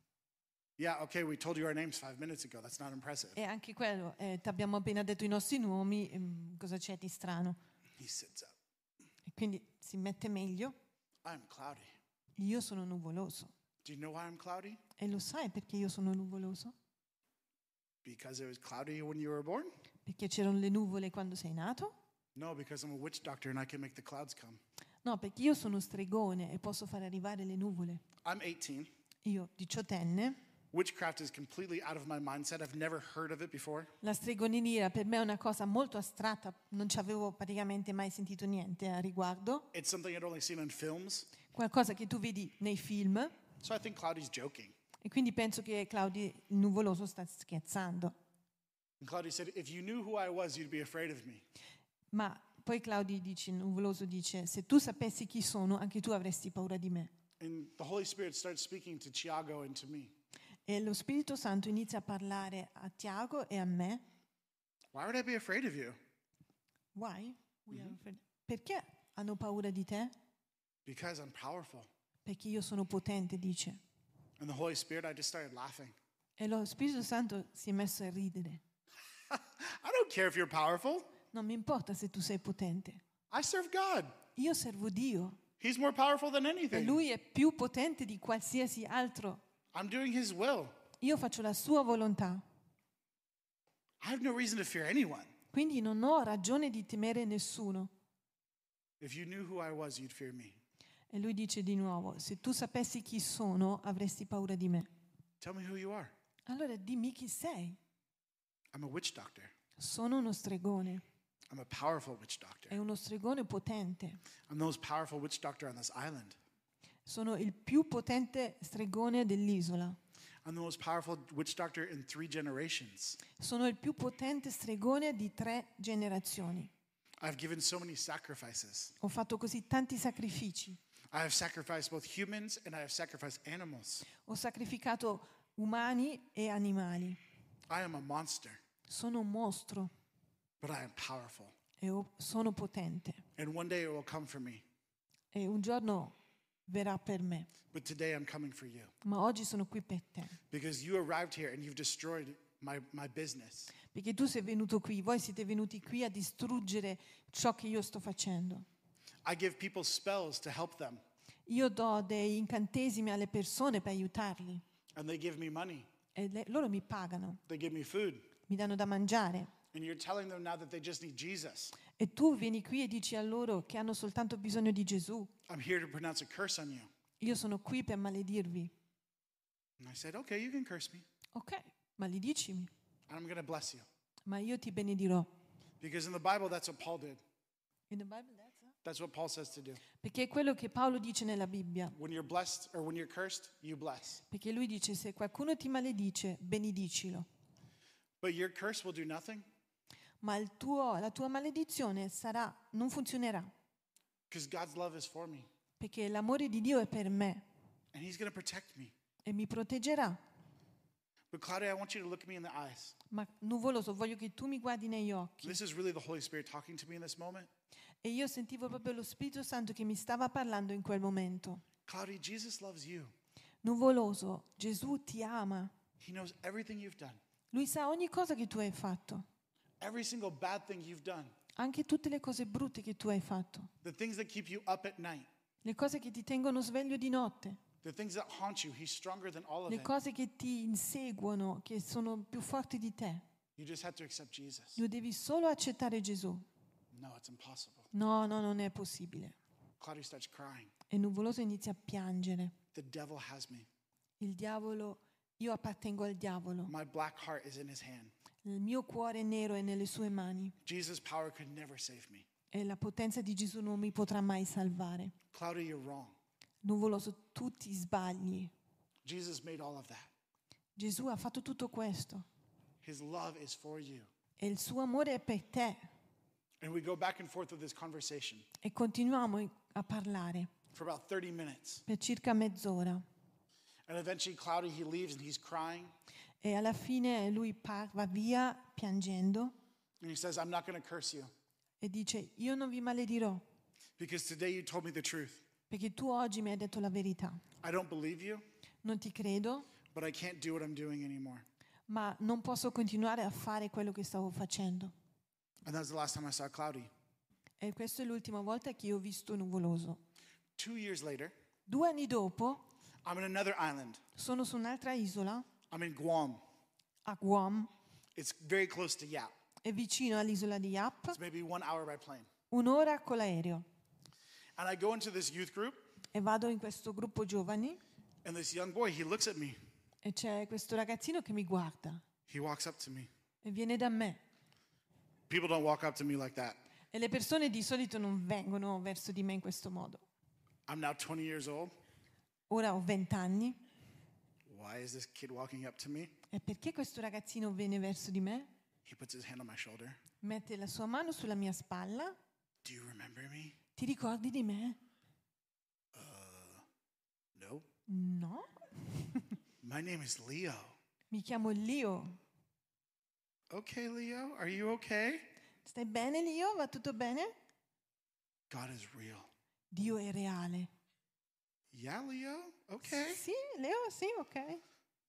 Yeah, okay, we told you our names five minutes ago. That's not impressive. E anche quello, eh, ti abbiamo appena detto i nostri nomi, ehm, cosa c'è di strano? He sits up. E quindi si mette meglio. I'm cloudy. Io sono nuvoloso. Do you know why I'm cloudy? E lo sai perché io sono nuvoloso? Because it was cloudy when you were born? Perché c'erano le nuvole quando sei nato? No, because I'm a witch doctor and I can make the clouds come. No, perché io sono stregone e posso fare arrivare le nuvole. I'm eighteen. Io, diciottenne, Witchcraft is completely out of my mindset. I've never heard of it before. la stregoneria per me è una cosa molto astratta, non ci avevo praticamente mai sentito niente a riguardo. It's something I'd only seen in films. Qualcosa che tu vedi nei film So I think Cloudy's joking. e quindi penso che Claudio il nuvoloso sta scherzando. And Cloudy said, if you knew who I was, you'd be afraid of me. Ma poi Claudio dice, il nuvoloso dice, se tu sapessi chi sono, anche tu avresti paura di me. And the Holy Spirit starts speaking to Tiago and to me. E lo Spirito Santo inizia a parlare a Tiago e a me. Why would I be afraid of you? Why? We are afraid. Perché hanno paura di te? Because I'm powerful. Perché io sono potente, dice. And the Holy Spirit, I just started laughing. E lo Spirito Santo si è messo a ridere. I don't care if you're powerful. Non mi importa se tu sei potente. I serve God. Io servo Dio. He's more powerful than E anything. Lui è più potente di qualsiasi altro. I'm doing his will. Io faccio la sua volontà. I have no reason to fear anyone. Quindi non ho ragione di temere nessuno. If you knew who I was, you'd fear me. E lui dice di nuovo, se tu sapessi chi sono, avresti paura di me. Tell me who you are. Allora dimmi chi sei. I'm a witch doctor. Sono uno stregone. I'm a powerful witch doctor. È uno stregone potente. I'm the most powerful witch doctor on this island. Sono il più potente stregone dell'isola. I'm the most powerful witch doctor in three generations. Sono il più potente stregone di tre generazioni. I've given so many sacrifices. Ho fatto così tanti sacrifici. I have sacrificed both humans and I have sacrificed animals. Ho sacrificato umani e animali. I am a monster, Sono un mostro but I am powerful. e ho- sono potente. And one day it will come for me. E un giorno verrà per me. But today I'm coming for you. Ma oggi sono qui per te. Because you arrived here and you've destroyed my, my business. Perché tu sei venuto qui, voi siete venuti qui a distruggere ciò che io sto facendo. I give people spells to help them, Io do dei incantesimi alle persone per aiutarli. and they give me money. E le- loro mi pagano, They give me food. mi danno da mangiare. And you're telling them now that they just need Jesus. E tu vieni qui e dici a loro che hanno soltanto bisogno di Gesù. I'm here to pronounce a curse on you. Io sono qui per maledirvi. And I said, okay, you can curse me. Ok, maledicimi, And I'm going to bless you. ma io ti benedirò. Because in the Bible, that's what Paul did. In the Bible, that's it. That's what Paul says to do. Perché è quello che Paolo dice nella Bibbia. When you're blessed or when you're cursed, you bless. Perché lui dice se qualcuno ti maledice, benedicilo. But your curse will do nothing Ma il tuo- la tua maledizione sarà, non funzionerà. because God's love is for me. Perché l'amore di Dio è per me And he's going to protect me. e e mi proteggerà. But Claudia, I want you to look me in the eyes. Ma nuvoloso, voglio che tu mi guardi negli occhi. This is really the Holy Spirit talking to me in this moment. E io sentivo proprio lo Spirito Santo che mi stava parlando in quel momento. Claudia, Jesus loves you. Nuvoloso, Gesù ti ama. He knows everything you've done. Lui sa ogni cosa che tu hai fatto, Every single bad thing you've done. anche tutte le cose brutte che tu hai fatto, The things that keep you up at night. le cose che ti tengono sveglio di notte, The things that haunt you. He's stronger than all of le them. cose che ti inseguono, che sono più forti di te. You just have to accept Jesus. Tu devi solo accettare Gesù. No, it's impossible. No, no, non è possibile. Claudia starts crying. E Nuvoloso inizia a piangere. The devil has me. Il diavolo, io appartengo al diavolo. My black heart is in his hand. Il mio cuore nero è nelle sue mani Jesus' power could never save me. e la potenza di Gesù non mi potrà mai salvare. Claudia, you're wrong. Nuvoloso, tu ti sbagli. Jesus made all of that. Gesù ha fatto tutto questo His love is for you. e il suo amore è per te. And we go back and forth with this conversation E continuiamo a parlare for about thirty minutes. per circa mezz'ora. And eventually Claudia, he leaves and he's crying. E alla fine lui par- va via piangendo And he says, I'm not going to curse you e dice: io non vi maledirò because today you told me the truth. perché tu oggi mi hai detto la verità. I don't believe you, Non ti credo, but I can't do what I'm doing anymore. ma non posso continuare a fare quello che stavo facendo. And that was the last time I saw Claudia. E questa è l'ultima volta che io ho visto Nuvoloso. Two years later, Due anni dopo I'm in another island. sono su un'altra isola, I'm in Guam. a Guam, It's very close to Yap. è vicino all'isola di Yap, It's maybe one hour by plane. un'ora con l'aereo. And I go into this youth group, E vado in questo gruppo giovani and this young boy, he looks at me. e c'è questo ragazzino che mi guarda He walks up to me. e viene da me. People don't walk up to me like that. E le persone di solito non vengono verso di me in questo modo. I'm now twenty years old. Ora ho venti anni. Why is this kid walking up to me? E perché questo ragazzino viene verso di me? He puts his hand on my shoulder. Mette la sua mano sulla mia spalla. Do you remember me? Ti ricordi di me? No. No. My name is Leo. Mi chiamo Leo. Okay, Leo, are you okay? Stai bene, Leo? Va tutto bene? God is real. Dio è reale. Yeah, Leo? Okay. Sì, Leo, sì, ok.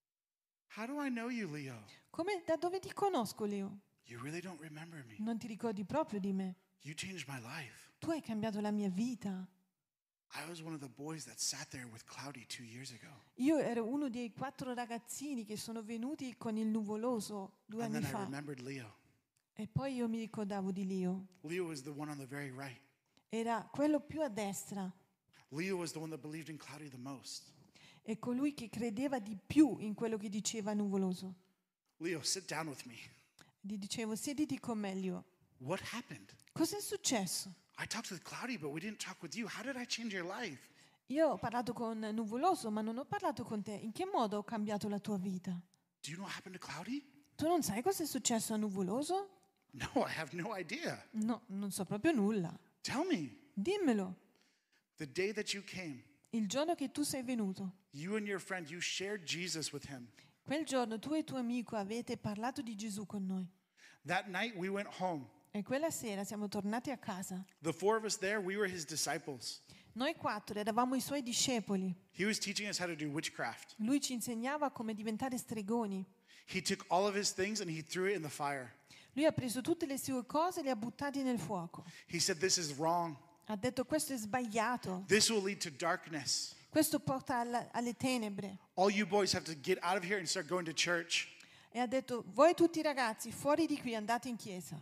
How do I know you, Leo? Come, da dove ti conosco, Leo? You really don't remember me. Non ti ricordi proprio di me. You changed my life. Tu hai cambiato la mia vita. I was one of the boys that sat there with Cloudy two years ago. Io ero uno dei quattro ragazzini che sono venuti con il nuvoloso due And anni then I fa. remembered Leo. E poi io mi ricordavo di Leo. Leo was the one on the very right. Era quello più a destra. Leo was the one that believed in Cloudy the most. È colui che credeva di più in quello che diceva Nuvoloso. Leo, sit down with me. Gli dicevo: siediti con me, Leo. What happened? Cosa è successo? I talked with Cloudy, but we didn't talk with you. How did I change your life? Io ho parlato con Nuvoloso, ma non ho parlato con te. In che modo ho cambiato la tua vita? Do you know what happened to Cloudy? Tu non sai cosa è successo a Nuvoloso? No, I have no idea. No, non so proprio nulla. Tell me. Dimmelo. The day that you came, Il giorno che tu sei venuto, you and your friend, you shared Jesus with him. quel giorno tu e il tuo amico avete parlato di Gesù con noi. That night we went home. E quella sera siamo tornati a casa. The four of us there, we were his disciples. Noi quattro eravamo i suoi discepoli. He was teaching us how to do witchcraft. Lui ci insegnava come diventare stregoni. He took all of his things and he threw it in the fire. Lui ha preso tutte le sue cose e le ha buttate nel fuoco. He said, this is wrong. Ha detto: questo è sbagliato. This will lead to darkness. Questo porta alla- alle tenebre. All you boys have to get out of here and start going to church. E ha detto: voi tutti ragazzi, fuori di qui, andate in chiesa.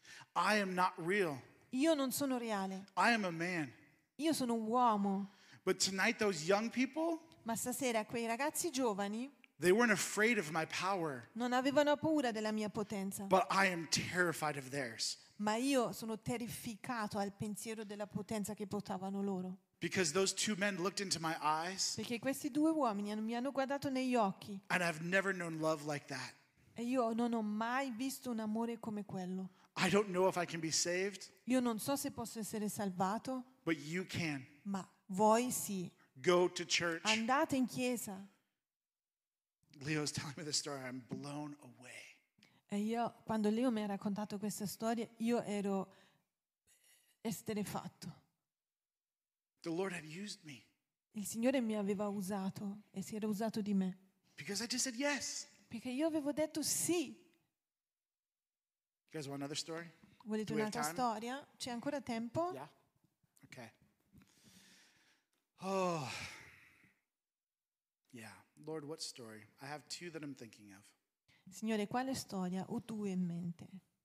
I am not real. Io non sono reale. I am a man. Io sono un uomo. But tonight, those young people, Ma stasera quei ragazzi giovani they weren't afraid of my power, non avevano paura della mia potenza. but I am terrified of theirs. Ma io sono terrificato al pensiero della potenza che portavano loro. Because those two men looked into my eyes, Perché questi due uomini hanno- mi hanno guardato negli occhi and I've never known love like that. e io non ho mai visto un amore come quello. I don't know if I can be saved, Io non so se posso essere salvato, but you can. ma voi sì. Go to church. Andate in chiesa. Leo's telling me this story, I'm blown away. E io, quando Leo mi ha raccontato questa storia, io ero esterefatto. The Lord had used me Il Signore mi aveva usato e si era usato di me. because I just said yes. Perché io avevo detto sì. You guys want another story? Volete Do we have un'altra time? storia? C'è ancora tempo? Yeah? Okay. Oh. Yeah. Lord, what story? I have two that I'm thinking of. Signore, quale storia ho tu in mente?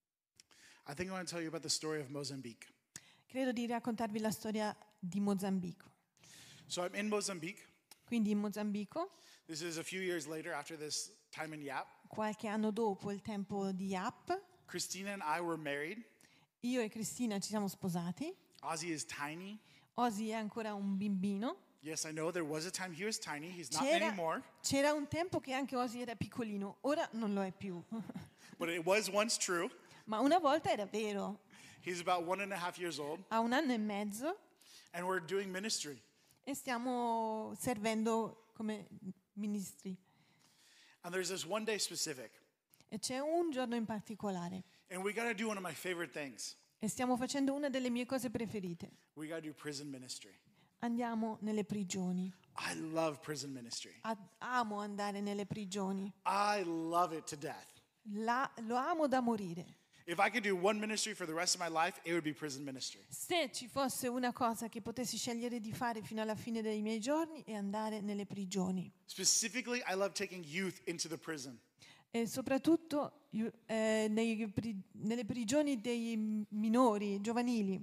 I think I want to tell you about the story of Mozambique. Credo di raccontarvi la storia di Mozambico. So I'm in Mozambique. Quindi in Mozambico, This is a few years later after this time in Yap. qualche anno dopo il tempo di Yap, Christina and I were married. io e Cristina ci siamo sposati. Ozzy is tiny. Ozzy è ancora un bambino. Yes, I know there was a time he was tiny. He's not C'era, anymore. c'era un tempo che anche Ozzy era piccolino, ora non lo è più. But it was once true. Ma una volta era vero. He's about one and a half years old. Ha un anno e mezzo And we're doing ministry. e stiamo servendo come ministri. And there's this one day specific. E c'è un giorno in particolare. And we got to do one of my favorite things. E stiamo facendo una delle mie cose preferite. We got to do prison ministry. Andiamo nelle prigioni. I love prison ministry. Ad- amo andare nelle prigioni. I love it to death. La- lo amo da morire. If I could do one ministry for the rest of my life, it would be prison ministry. Se ci fosse una cosa che potessi scegliere di fare fino alla fine dei miei giorni è andare nelle prigioni. Specifically, I love taking youth into the prison. E soprattutto io- eh, nei pri- nelle prigioni dei minori, giovanili.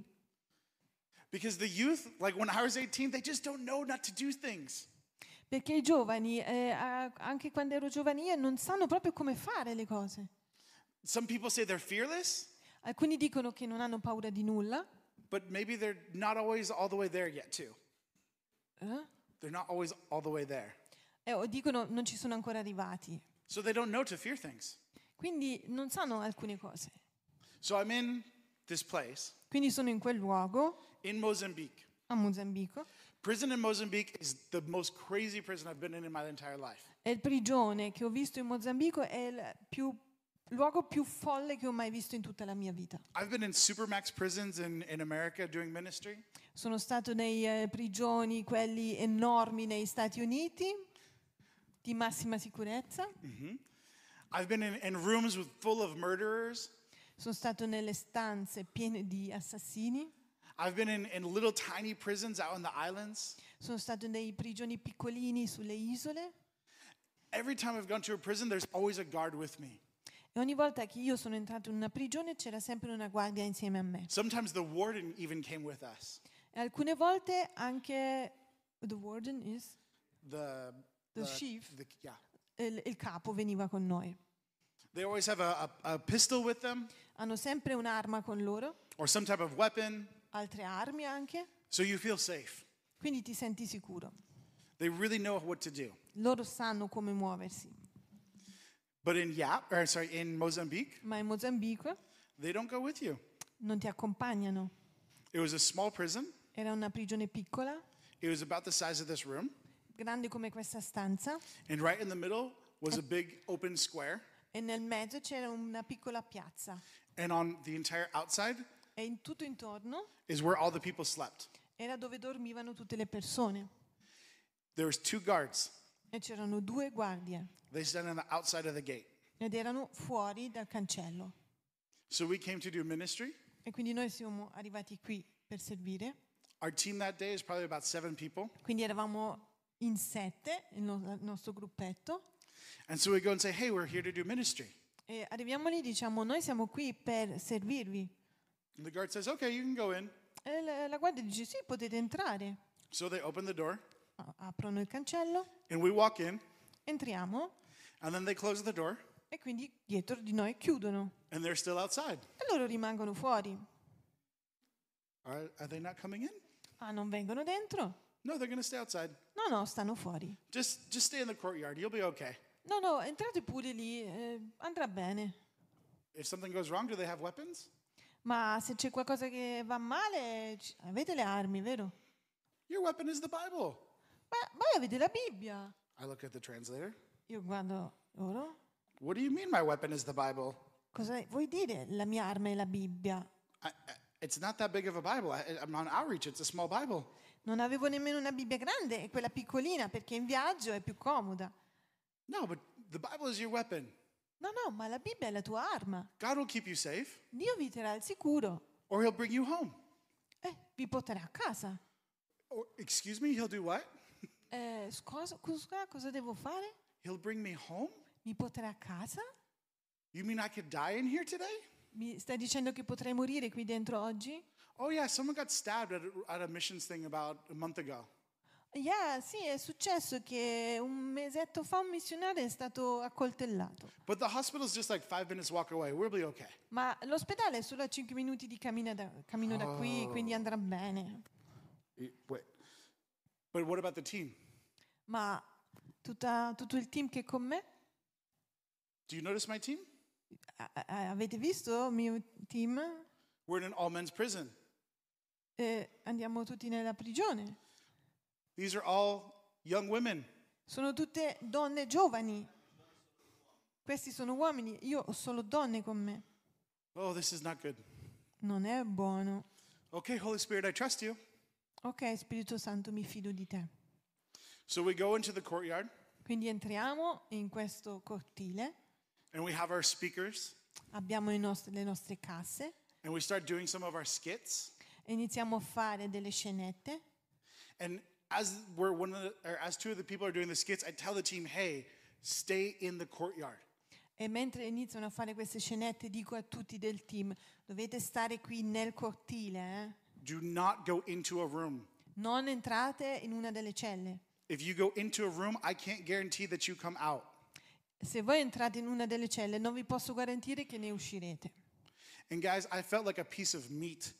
Because the youth, like when I was eighteen, they just don't know not to do things. Perché i giovani, eh, a- anche quando ero giovane, io, non sanno proprio come fare le cose. Some people say they're fearless, Alcuni dicono che non hanno paura di nulla. but maybe they're not always all the way there yet, too. eh, They're not always all the way there. eh, o dicono non ci sono ancora arrivati. So they don't know to fear things. Quindi non sanno alcune cose. So I'm in this place Quindi sono in quel luogo, in Mozambique. a Mozambico, Prison in Mozambique is the most crazy prison I've been in in my entire life. e il prigione che ho visto in Mozambico è il più, luogo più folle che ho mai visto in tutta la mia vita. I've been in supermax prisons in, in America doing ministry. Sono stato nei eh, prigioni, quelli enormi negli Stati Uniti, di massima sicurezza. I've been in, in rooms with, full of murderers. Sono stato nelle stanze piene di assassini. I've been in, in little tiny prisons out on the islands. Sono stato nei prigioni piccolini sulle isole. Every time I've gone to a prison, there's always a guard with me. E ogni volta che io sono entrato in una prigione c'era sempre una guardia insieme a me. Sometimes the warden even came with us. E alcune volte anche the warden is The, The chief. the- yeah. il, il capo veniva con noi. They always have a, a, a pistol with them Hanno sempre un'arma con loro, or some type of weapon, altre armi anche, so you feel safe. quindi ti senti sicuro. They really know what to do. Loro sanno come muoversi. But in Yap, or sorry, in Mozambique, Ma in Mozambico they don't go with you. non ti accompagnano. It was a small prison. Era una prigione piccola, It was about the size of this room. grande come questa stanza, And right in the middle was a big open square. e nel mezzo c'era una piccola piazza. And on the entire outside E in tutto intorno is where all the people slept. era dove dormivano tutte le persone. There was two guards. E c'erano due guardie They stand on the outside of the gate. ed erano fuori dal cancello. So we came to do ministry. E quindi noi siamo arrivati qui per servire. Our team that day is probably about seven people. Quindi eravamo in sette, il, no- il nostro gruppetto. And so we go and say, hey, we're here to do ministry. E arriviamo lì e diciamo, noi siamo qui per servirvi. And the guard says, okay, you can go in. E la, la guardia dice, sì, potete entrare. So they open the door A- Aprono il cancello, and we walk in entriamo and then they close the door e quindi dietro di noi chiudono. and they're still outside. E loro rimangono fuori. Are, are they not coming in? Ah, non vengono dentro? No, they're going to stay outside. No, no, stanno fuori. Just, just stay in the courtyard. You'll be okay. No, no, entrate pure lì, eh, andrà bene. If something goes wrong, do they have weapons? Ma se c'è qualcosa che va male, c- avete le armi, vero? Your weapon is the Bible. Ma voi avete la Bibbia. I look at the translator. Io Io guardo loro. What do you mean my weapon is the Bible? Cosa vuoi dire? La mia arma è la Bibbia. I, I- it's not that big of a Bible. I, I'm on outreach. It's a small Bible. Non avevo nemmeno una Bibbia grande, è quella piccolina perché in viaggio è più comoda. No, but the Bible is your weapon. No, no, ma la Bibbia è la tua arma. God will keep you safe, Dio vi terrà al sicuro. or He'll bring you home. Eh, vi porterà a casa. Or, excuse me, He'll do what? Eh, scusa, scusa, cosa devo fare? He'll bring me home? Mi porterà a casa? You mean I could die in here today? Mi stai dicendo che potrei morire qui dentro oggi? Oh, yeah, someone got stabbed at a, at a missions thing about a month ago. Yeah, sì, è successo che un mesetto fa un missionario è stato accoltellato. But the hospital's just like five minutes walk away. We'll be okay. Ma l'ospedale è solo a cinque minuti di cammino da, cammino da qui, quindi andrà bene. Y- Wait. But what about the team? Ma tutta- tutto il team che è con me? Do you notice my team? A- a- avete visto il mio team? We're in an all men's prison. Eh, andiamo tutti nella prigione. These are all young women. Sono tutte donne giovani. Questi sono uomini, io ho solo donne con me. Oh, this is not good. Non è buono. Okay, Holy Spirit, I trust you. Ok, Spirito Santo, mi fido di te. So we go into the courtyard Quindi entriamo in questo cortile, and we have our speakers abbiamo i nostri- le nostre casse and we start doing some of our skits. e iniziamo a fare delle scenette. And as we're one of the, or as two of the people are doing the skits, I tell the team, hey, stay in the courtyard. E mentre iniziano a fare queste scenette dico a tutti del team, dovete stare qui nel cortile, eh? Do not go into a room. Non entrate in una delle celle. If you go into a room, I can't guarantee that you come out. Se voi entrate in una delle celle non vi posso garantire che ne uscirete. And guys, I felt like a piece of meat.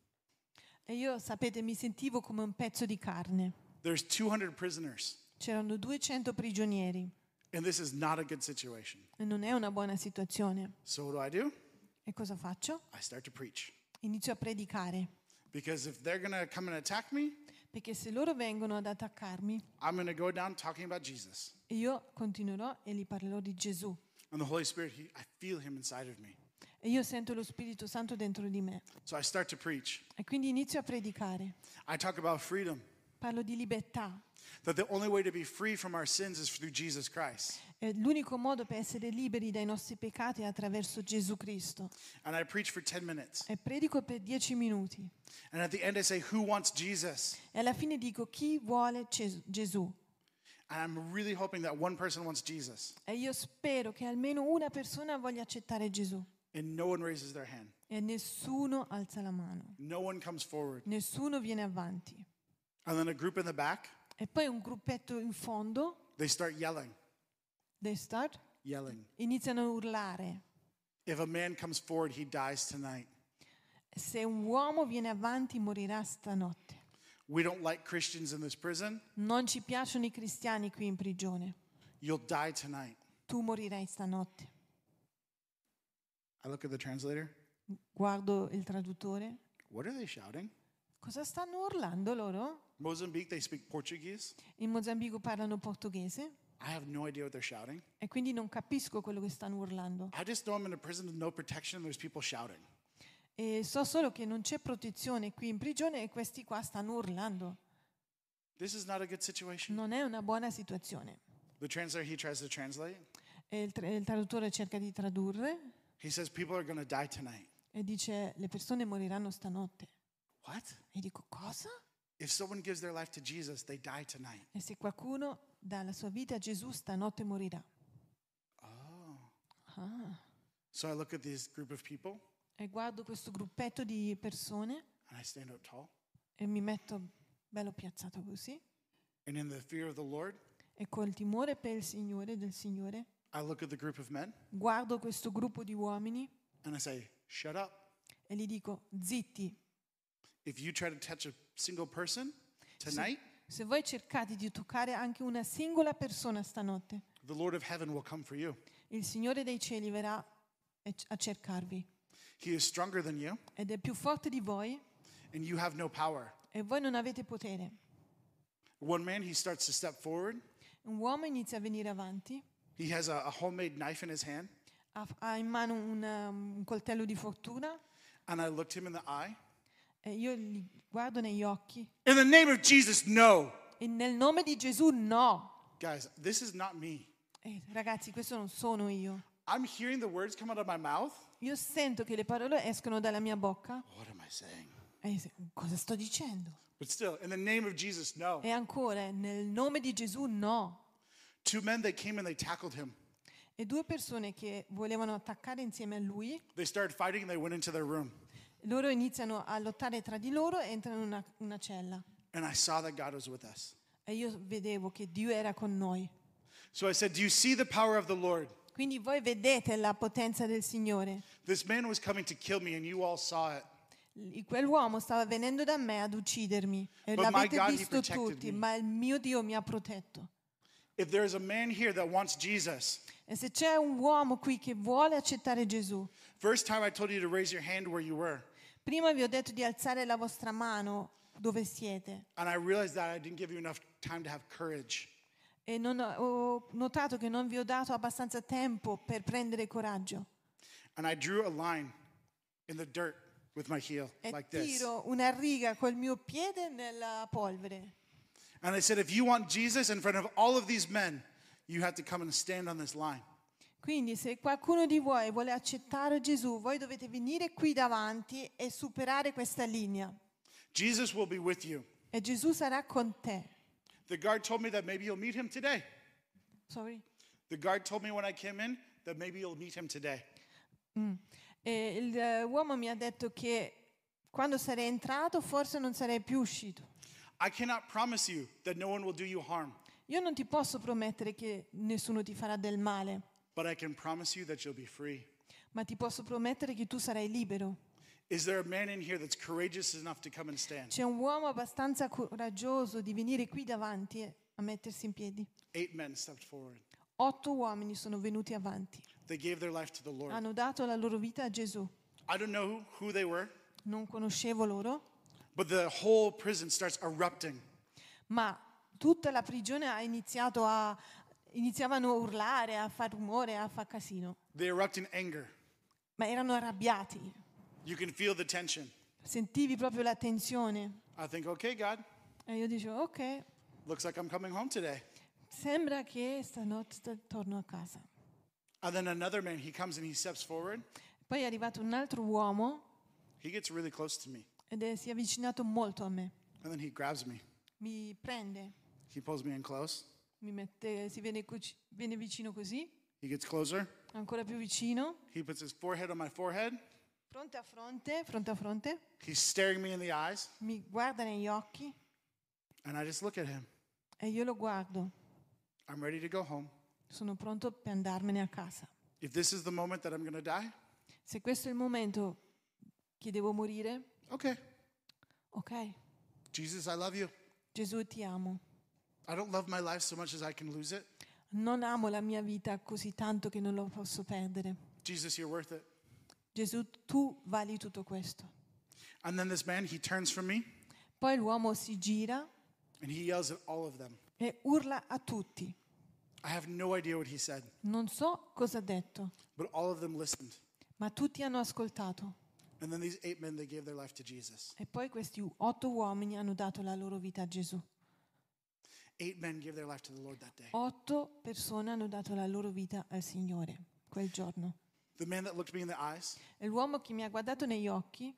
E io, sapete, mi sentivo come un pezzo di carne. There's two hundred prisoners, C'erano duecento prigionieri and this is not a good situation. e non è una buona situazione. So what do I do? E cosa faccio? I start to preach. Inizio a predicare. Because if they're going to come and attack me, Perché se loro vengono ad attaccarmi, I'm going to go down talking about Jesus. io continuerò e gli parlerò di Gesù. And the Holy Spirit, he, I feel him inside of me. E io sento lo Spirito Santo dentro di me. So I start to preach. E quindi inizio a predicare. I talk about freedom, Parlo di libertà. that the only way to be free from our sins is through Jesus Christ. E l'unico modo per essere liberi dai nostri peccati è attraverso Gesù Cristo. And I preach for ten minutes. E predico per dieci minuti. And at the end, I say, who wants Jesus? E alla fine dico chi vuole Ges- Gesù. And I'm really hoping that one person wants Jesus. E io spero che almeno una persona voglia accettare Gesù. And no one raises their hand. E nessuno alza la mano. No one comes forward. Nessuno viene avanti. And then a group in the back, E poi un gruppetto in fondo, they start yelling, they start, yelling. iniziano a urlare. If a man comes forward, he dies tonight. Se un uomo viene avanti morirà stanotte. We don't like Christians in this prison. Non ci piacciono i cristiani qui in prigione. You'll die tonight. Tu morirai stanotte. I look at the translator. Guardo il traduttore. What are they shouting? Cosa stanno urlando loro? Mozambique, they speak Portuguese. In Mozambico parlano portoghese I have no idea what they're shouting. e quindi non capisco quello che stanno urlando. I just know I'm in a prison with no protection. There's people shouting. E so solo che non c'è protezione qui in prigione e questi qua stanno urlando. This is not a good situation. Non è una buona situazione. The translator, he tries to translate. E il, tra- il traduttore cerca di tradurre He says, people are going to die tonight. e dice le persone moriranno stanotte. What? E dico cosa? If someone gives their life to Jesus, they die tonight. E se qualcuno dà la sua vita a Gesù stanotte morirà. Oh. Ah. So I look at this group of people E guardo questo gruppetto di persone and I stand up tall. e mi metto bello piazzato così And in the fear of the Lord, e col timore per il Signore del Signore I look at the group of men guardo questo gruppo di uomini and I say, shut up. e gli dico zitti. If you try to touch a single person tonight, Se voi cercate di toccare anche una singola persona stanotte, the Lord of heaven will come for you. il Signore dei cieli verrà a cercarvi He is stronger than you ed è più forte di voi and you have no power. e voi non avete potere. One man, he starts to step forward Un uomo inizia a venire avanti He has a, a homemade knife in his hand. Ha, ha in mano un, um, un coltello di fortuna And I looked him in the eye. e io li guardo negli occhi. In the name of Jesus, no. E nel nome di Gesù no. Guys, this is not me. Eh, ragazzi, questo non sono io. I'm hearing the words come out of my mouth. Io sento che le parole escono dalla mia bocca. What am I saying? E se- cosa sto dicendo? But still, in the name of Jesus, no. E ancora, nel nome di Gesù no. Two men, they came and they tackled him. E due persone che volevano attaccare insieme a lui, They started fighting and they went into their room. loro iniziano a lottare tra di loro e entrano in una, una cella. And I saw that God was with us. E io vedevo che Dio era con noi. So I said, do you see the power of the Lord? Quindi voi vedete la potenza del Signore. This man was coming to kill me and you all saw it. Il- Quell'uomo stava venendo da me ad uccidermi. E But my l'avete God, he visto protected tutti, me. ma il mio Dio mi ha protetto. If there is a man here that wants Jesus, E se c'è un uomo qui che vuole accettare Gesù, first time I told you to raise your hand where you were. prima vi ho detto di alzare la vostra mano dove siete. And I realized that I didn't give you enough time to have courage. E non ho, ho notato che non vi ho dato abbastanza tempo per prendere coraggio. And I drew a line in the dirt with my heel, E like this. tiro una riga col mio piede nella polvere. And I said, if you want Jesus in front of all of these men, you have to come and stand on this line. Quindi se qualcuno di voi vuole accettare Gesù, voi dovete venire qui davanti e superare questa linea. Jesus will be with you. E Gesù sarà con te. The guard told me that maybe you'll meet him today. Sorry. The guard told me when I came in that maybe you'll meet him today. E il, eh, uomo mi ha detto che quando sarei entrato forse non sarei più uscito. I cannot promise you that no one will do you harm, Io non ti posso promettere che nessuno ti farà del male, but I can promise you that you'll be free. ma ti posso promettere che tu sarai libero. Is there a man in here that's courageous enough to come and stand? C'è un uomo abbastanza coraggioso di venire qui davanti e a mettersi in piedi. Eight men stepped forward. Otto uomini sono venuti avanti. They gave their life to the Lord. Hanno dato la loro vita a Gesù. I don't know who, who they were, Non conoscevo loro, but the whole prison starts erupting. ma tutta la prigione ha iniziato a iniziavano a urlare, a far rumore, a far casino. They erupt in anger. Ma erano arrabbiati. You can feel the tension. Sentivi proprio la tensione. I think, okay, God, E io dicevo, ok, looks like I'm coming home today. sembra che stanotte torno a casa. And then another man, he comes and he steps forward. Poi è arrivato un altro uomo He gets really close to me. ed è, si è avvicinato molto a me. And then he grabs me. Mi prende, He pulls me in close. mi mette, si viene, cuci- viene vicino così, He gets closer. ancora più vicino, He puts his forehead on my forehead. fronte a fronte, fronte a fronte, He's staring me in the eyes. mi guarda negli occhi And I just look at him. e io lo guardo. I'm ready to go home. Sono pronto per andarmene a casa. If this is the moment that I'm going to die, Se questo è il momento che devo morire, okay. ok, Jesus, I love you. Gesù ti amo. I don't love my life so much as I can lose it. Non amo la mia vita così tanto che non lo posso perdere. Jesus, you're worth it. Gesù, tu vali tutto questo. And then this man, he turns from me Poi l'uomo si gira and he yells at all of them. e urla a tutti. I have no idea what he said, Non so cosa ha detto, but all of them listened. ma tutti hanno ascoltato. And then these eight men, they gave their life to Jesus. E poi questi otto uomini hanno dato la loro vita a Gesù. Eight men gave their life to the Lord that day. Otto persone hanno dato la loro vita al Signore quel giorno. The man that looked me in the eyes, E l'uomo che mi ha guardato negli occhi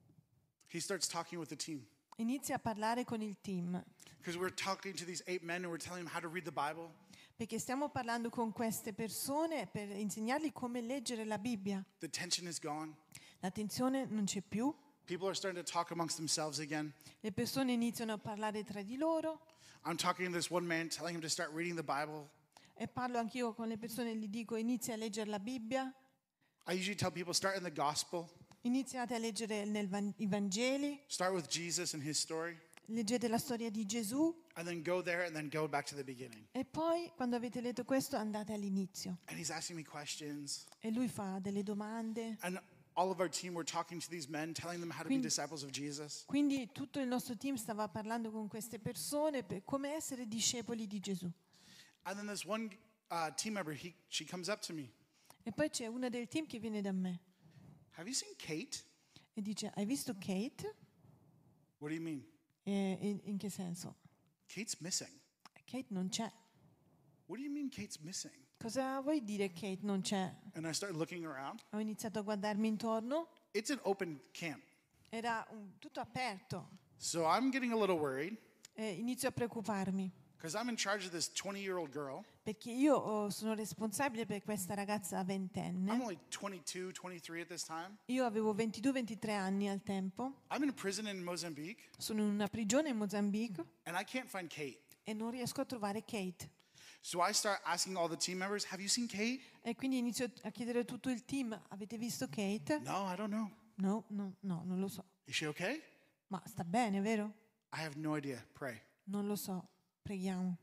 he starts talking with the team. inizia a parlare con il team. Because we're talking to these eight men and we're telling them how to read the Bible. Perché stiamo parlando con queste persone per insegnargli come leggere la Bibbia. The tension is gone. La tensione non c'è più. People are starting to talk amongst themselves again. Le persone iniziano a parlare tra di loro. I'm talking to this one man, telling him to start reading the Bible. E parlo anch'io con le persone e gli dico inizia a leggere la Bibbia. I usually tell people start in the gospel, Iniziate a leggere nel Van- i Vangeli. start with Jesus and his story, Leggete la storia di Gesù. and then go there and then go back to the beginning. E poi quando avete letto questo andate all'inizio. And he's asking me questions. E lui fa delle domande. And all of our team were talking to these men, telling them how to be Quindi- disciples of Jesus. Quindi tutto il nostro team stava parlando con queste persone per come essere discepoli di Gesù. And then this one uh, team member, he, she comes up to me. E poi c'è una del team che viene da me Have you seen Kate? e dice, hai visto Kate? What do you mean? E in, in che senso? Kate's missing. Kate non c'è. What do you mean Kate's missing? Cosa vuoi dire Kate non c'è? And I start looking around. Ho iniziato a guardarmi intorno, It's an open camp. era un- tutto aperto. So I'm getting a little worried E inizio a preoccuparmi because I'm in charge of this twenty-year-old girl. perché io oh, sono responsabile per questa ragazza I'm ventenne. only twenty-two, twenty-three at this time. Io avevo ventidue ventitré anni al tempo, I'm in prison in Mozambique, sono in una prigione in Mozambico and I can't find Kate. e non riesco a trovare Kate. So I start asking all the team members, have you seen Kate? E quindi inizio a chiedere a tutto il team, avete visto Kate? No, I don't know. No, no, no, non lo so. Is she okay? Ma sta bene, vero? I have no idea. Pray. Non lo so, preghiamo.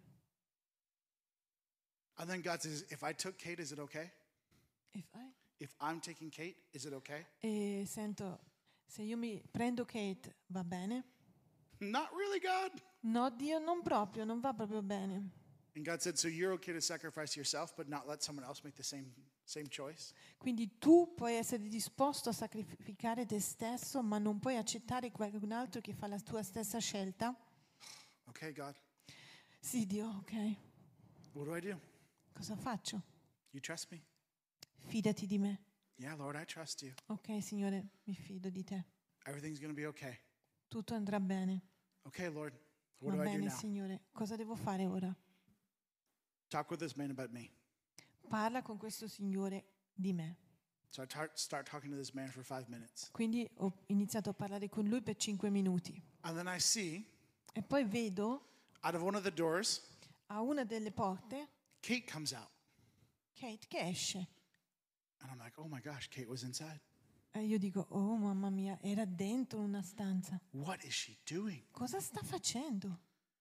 And then God says, if I took Kate, is it okay? If I- If I'm taking Kate, is it okay? E sento, se io mi prendo Kate, va bene? Not really, God. No, Dio, non proprio, non va proprio bene. And God said, so you're okay to sacrifice yourself, but not let someone else make the same, same choice? Quindi tu puoi essere disposto a sacrificare te stesso, ma non puoi accettare qualcun altro che fa la tua stessa scelta? Okay, God. Sì, Dio, ok. What do I do? Cosa faccio? You trust me? Fidati di me. Yeah, Lord, I trust you. Ok, Signore, mi fido di te. Everything's going to be okay. Tutto andrà bene. Okay, Lord. What Va do I do bene, now? Signore. Cosa devo fare ora? Talk with this man about me. Parla con questo Signore di me. So I tar- start talking to this man for five minutes. Quindi ho iniziato a parlare con lui per cinque minuti. And then I see E poi vedo out of one of the doors, a una delle porte Kate comes out. Kate che esce. And I'm like, oh my gosh, Kate was inside. E io dico, oh mamma mia, era dentro una stanza. What is she doing? Cosa sta facendo?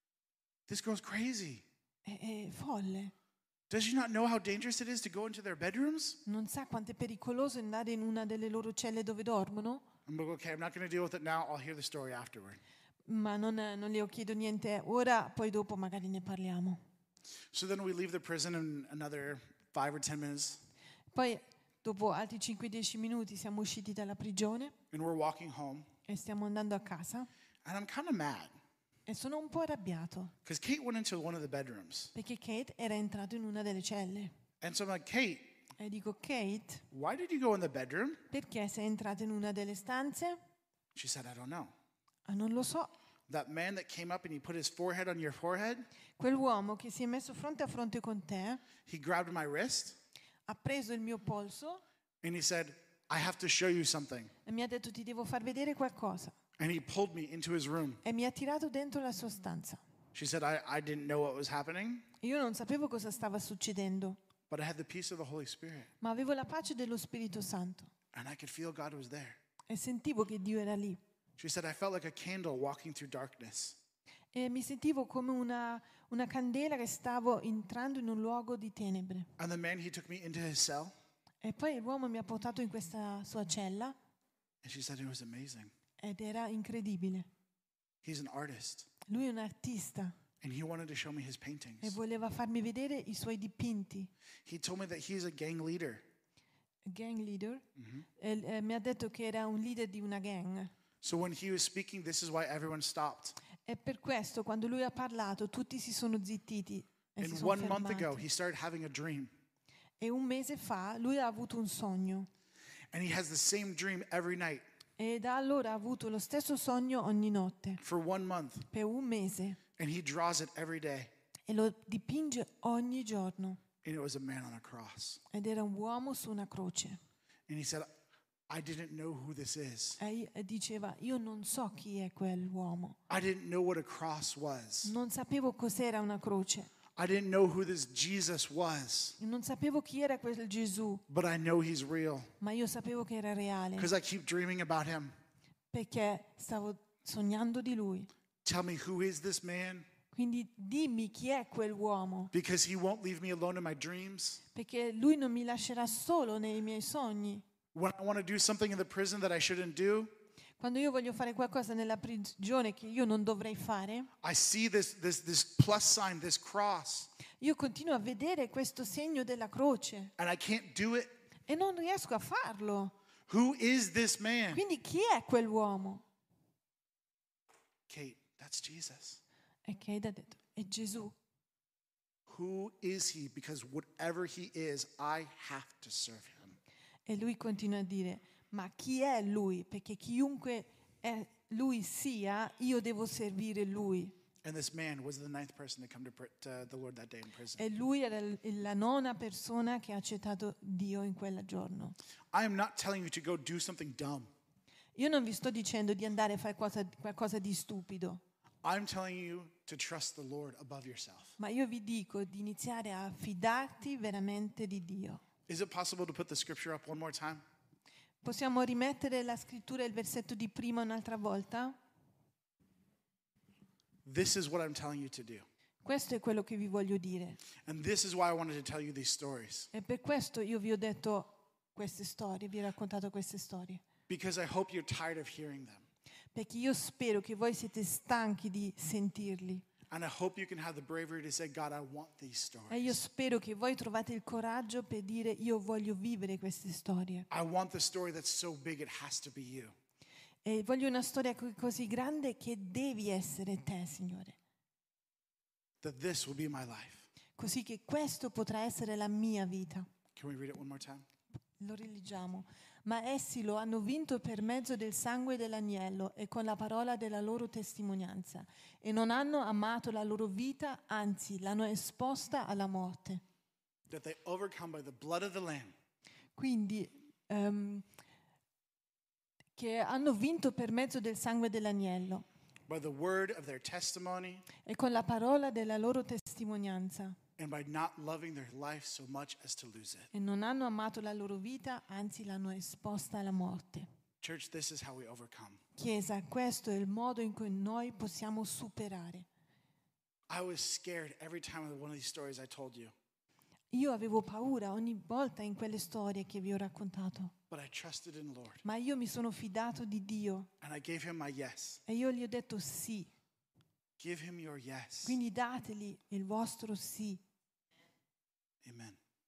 This girl's crazy. È, è folle. Does she not know how dangerous it is to go into their bedrooms? Non sa quanto è pericoloso andare in una delle loro celle dove dormono? I'm like, okay, I'm not going to deal with it now. I'll hear the story afterward. Ma non, non le chiedo niente ora, poi dopo magari ne parliamo. So then we leave the prison in another five or ten minutes, Poi dopo altri cinque dieci minuti siamo usciti dalla prigione and we're walking home. e stiamo andando a casa And I'm kind of mad e sono un po' arrabbiato because Kate went into one of the bedrooms. perché Kate era entrato in una delle celle. And so I'm like, Kate, E dico, Kate, why did you go in the bedroom? perché sei entrata in una delle stanze? She said, I don't know. Ah, non lo so. That man that came up and he put his forehead on your forehead, Quell'uomo che si è messo fronte a fronte con te he grabbed my wrist ha preso il mio polso and he said, I have to show you something. e mi ha detto ti devo far vedere qualcosa. And he pulled me into his room. E mi ha tirato dentro la sua stanza. She said, I, I didn't know what was happening, Io non sapevo cosa stava succedendo, but I had the peace of the Holy Spirit. ma avevo la pace dello Spirito Santo And I could feel God was there. e sentivo che Dio era lì. She said, I felt like a candle walking through darkness. E mi sentivo come una, una candela che stavo entrando in un luogo di tenebre. And the man, he took me into his cell. E poi l'uomo mi ha portato in questa sua cella And she said, it was amazing. ed era incredibile. He's an artist. Lui è un artista And he wanted to show me his e paintings. voleva farmi vedere i suoi dipinti. He told me that he's a gang leader. Gang leader. E, eh, mi ha detto che era un leader di una gang. So when he was speaking, this is why everyone stopped. E per questo quando lui ha parlato tutti si sono zittiti e si And sono one month ago, fermati. he started having a dream. E un mese fa lui ha avuto un sogno And he has the same dream every night e da allora ha avuto lo stesso sogno ogni notte for one month. per un mese And he draws it every day. e lo dipinge ogni giorno And it was a man on a cross. ed era un uomo su una croce And he said, I didn't know who this is. e e diceva io non so chi è quell'uomo, I didn't know what a cross was. non sapevo cos'era una croce, I didn't know who this Jesus was. non sapevo chi era quel Gesù, But I know he's real ma io sapevo che era reale because I keep dreaming about him. perché stavo sognando di lui. Tell me, who is this man? Quindi dimmi chi è quell'uomo, Because he won't leave me alone in my dreams. perché lui non mi lascerà solo nei miei sogni. When I want to do something in the prison that I shouldn't do, Quando io voglio fare qualcosa nella prigione che io non dovrei fare, I see this, this, this plus sign, this cross. Io continuo a vedere questo segno della croce and I can't do it. e non riesco a farlo. Who is this man? Quindi chi è quell'uomo? Kate, that's Jesus. E Kate ha detto, è Gesù. Who is he? Because whatever he is, I have to serve him. E lui continua a dire, ma chi è lui? Perché chiunque è lui sia, io devo servire lui. And this man was the ninth person to come to, pr- to the Lord that day in prison. E lui era l- la nona persona che ha accettato Dio in quel giorno. I am not telling you to go do something dumb. Io non vi sto dicendo di andare a fare qualcosa, qualcosa di stupido, I'm telling you to trust the Lord above yourself. ma io vi dico di iniziare a fidarti veramente di Dio. Is it possible to put the scripture up one more time? Possiamo rimettere la scrittura e il versetto di prima un'altra volta? This is what I'm telling you to do. Questo è quello che vi voglio dire. And this is why I wanted to tell you these stories. E per questo io vi ho detto queste storie, vi ho raccontato queste storie. Because I hope you're tired of hearing them. Perché io spero che voi siete stanchi di sentirli. And I hope you can have the bravery to say, God, I want these E io stories. spero che voi trovate il coraggio per dire io voglio vivere queste storie. I want the story that's so big it has to be you. E voglio una storia co- così grande che devi essere te, Signore. That this will be my life. Così che questo potrà essere la mia vita. Can we read it one more time? Lo rileggiamo. Ma essi lo hanno vinto per mezzo del sangue dell'agnello e con la parola della loro testimonianza. E non hanno amato la loro vita, anzi l'hanno esposta alla morte. That they overcome by the blood of the Lamb Quindi, ehm, che hanno vinto per mezzo del sangue dell'agnello by the word of their testimony, e con la parola della loro testimonianza. and by not loving their life so much as to lose it. E non hanno amato la loro vita, anzi l'hanno esposta alla morte. Church, this is how we overcome. Chiesa, questo è il modo in cui noi possiamo superare. I was scared every time of one of these stories I told you, Io avevo paura ogni volta in quelle storie che vi ho raccontato, but I trusted in the Lord, ma io mi sono fidato di Dio and I gave him my yes. e io gli ho detto sì. Give him your yes. Quindi dateli il vostro sì. Amen.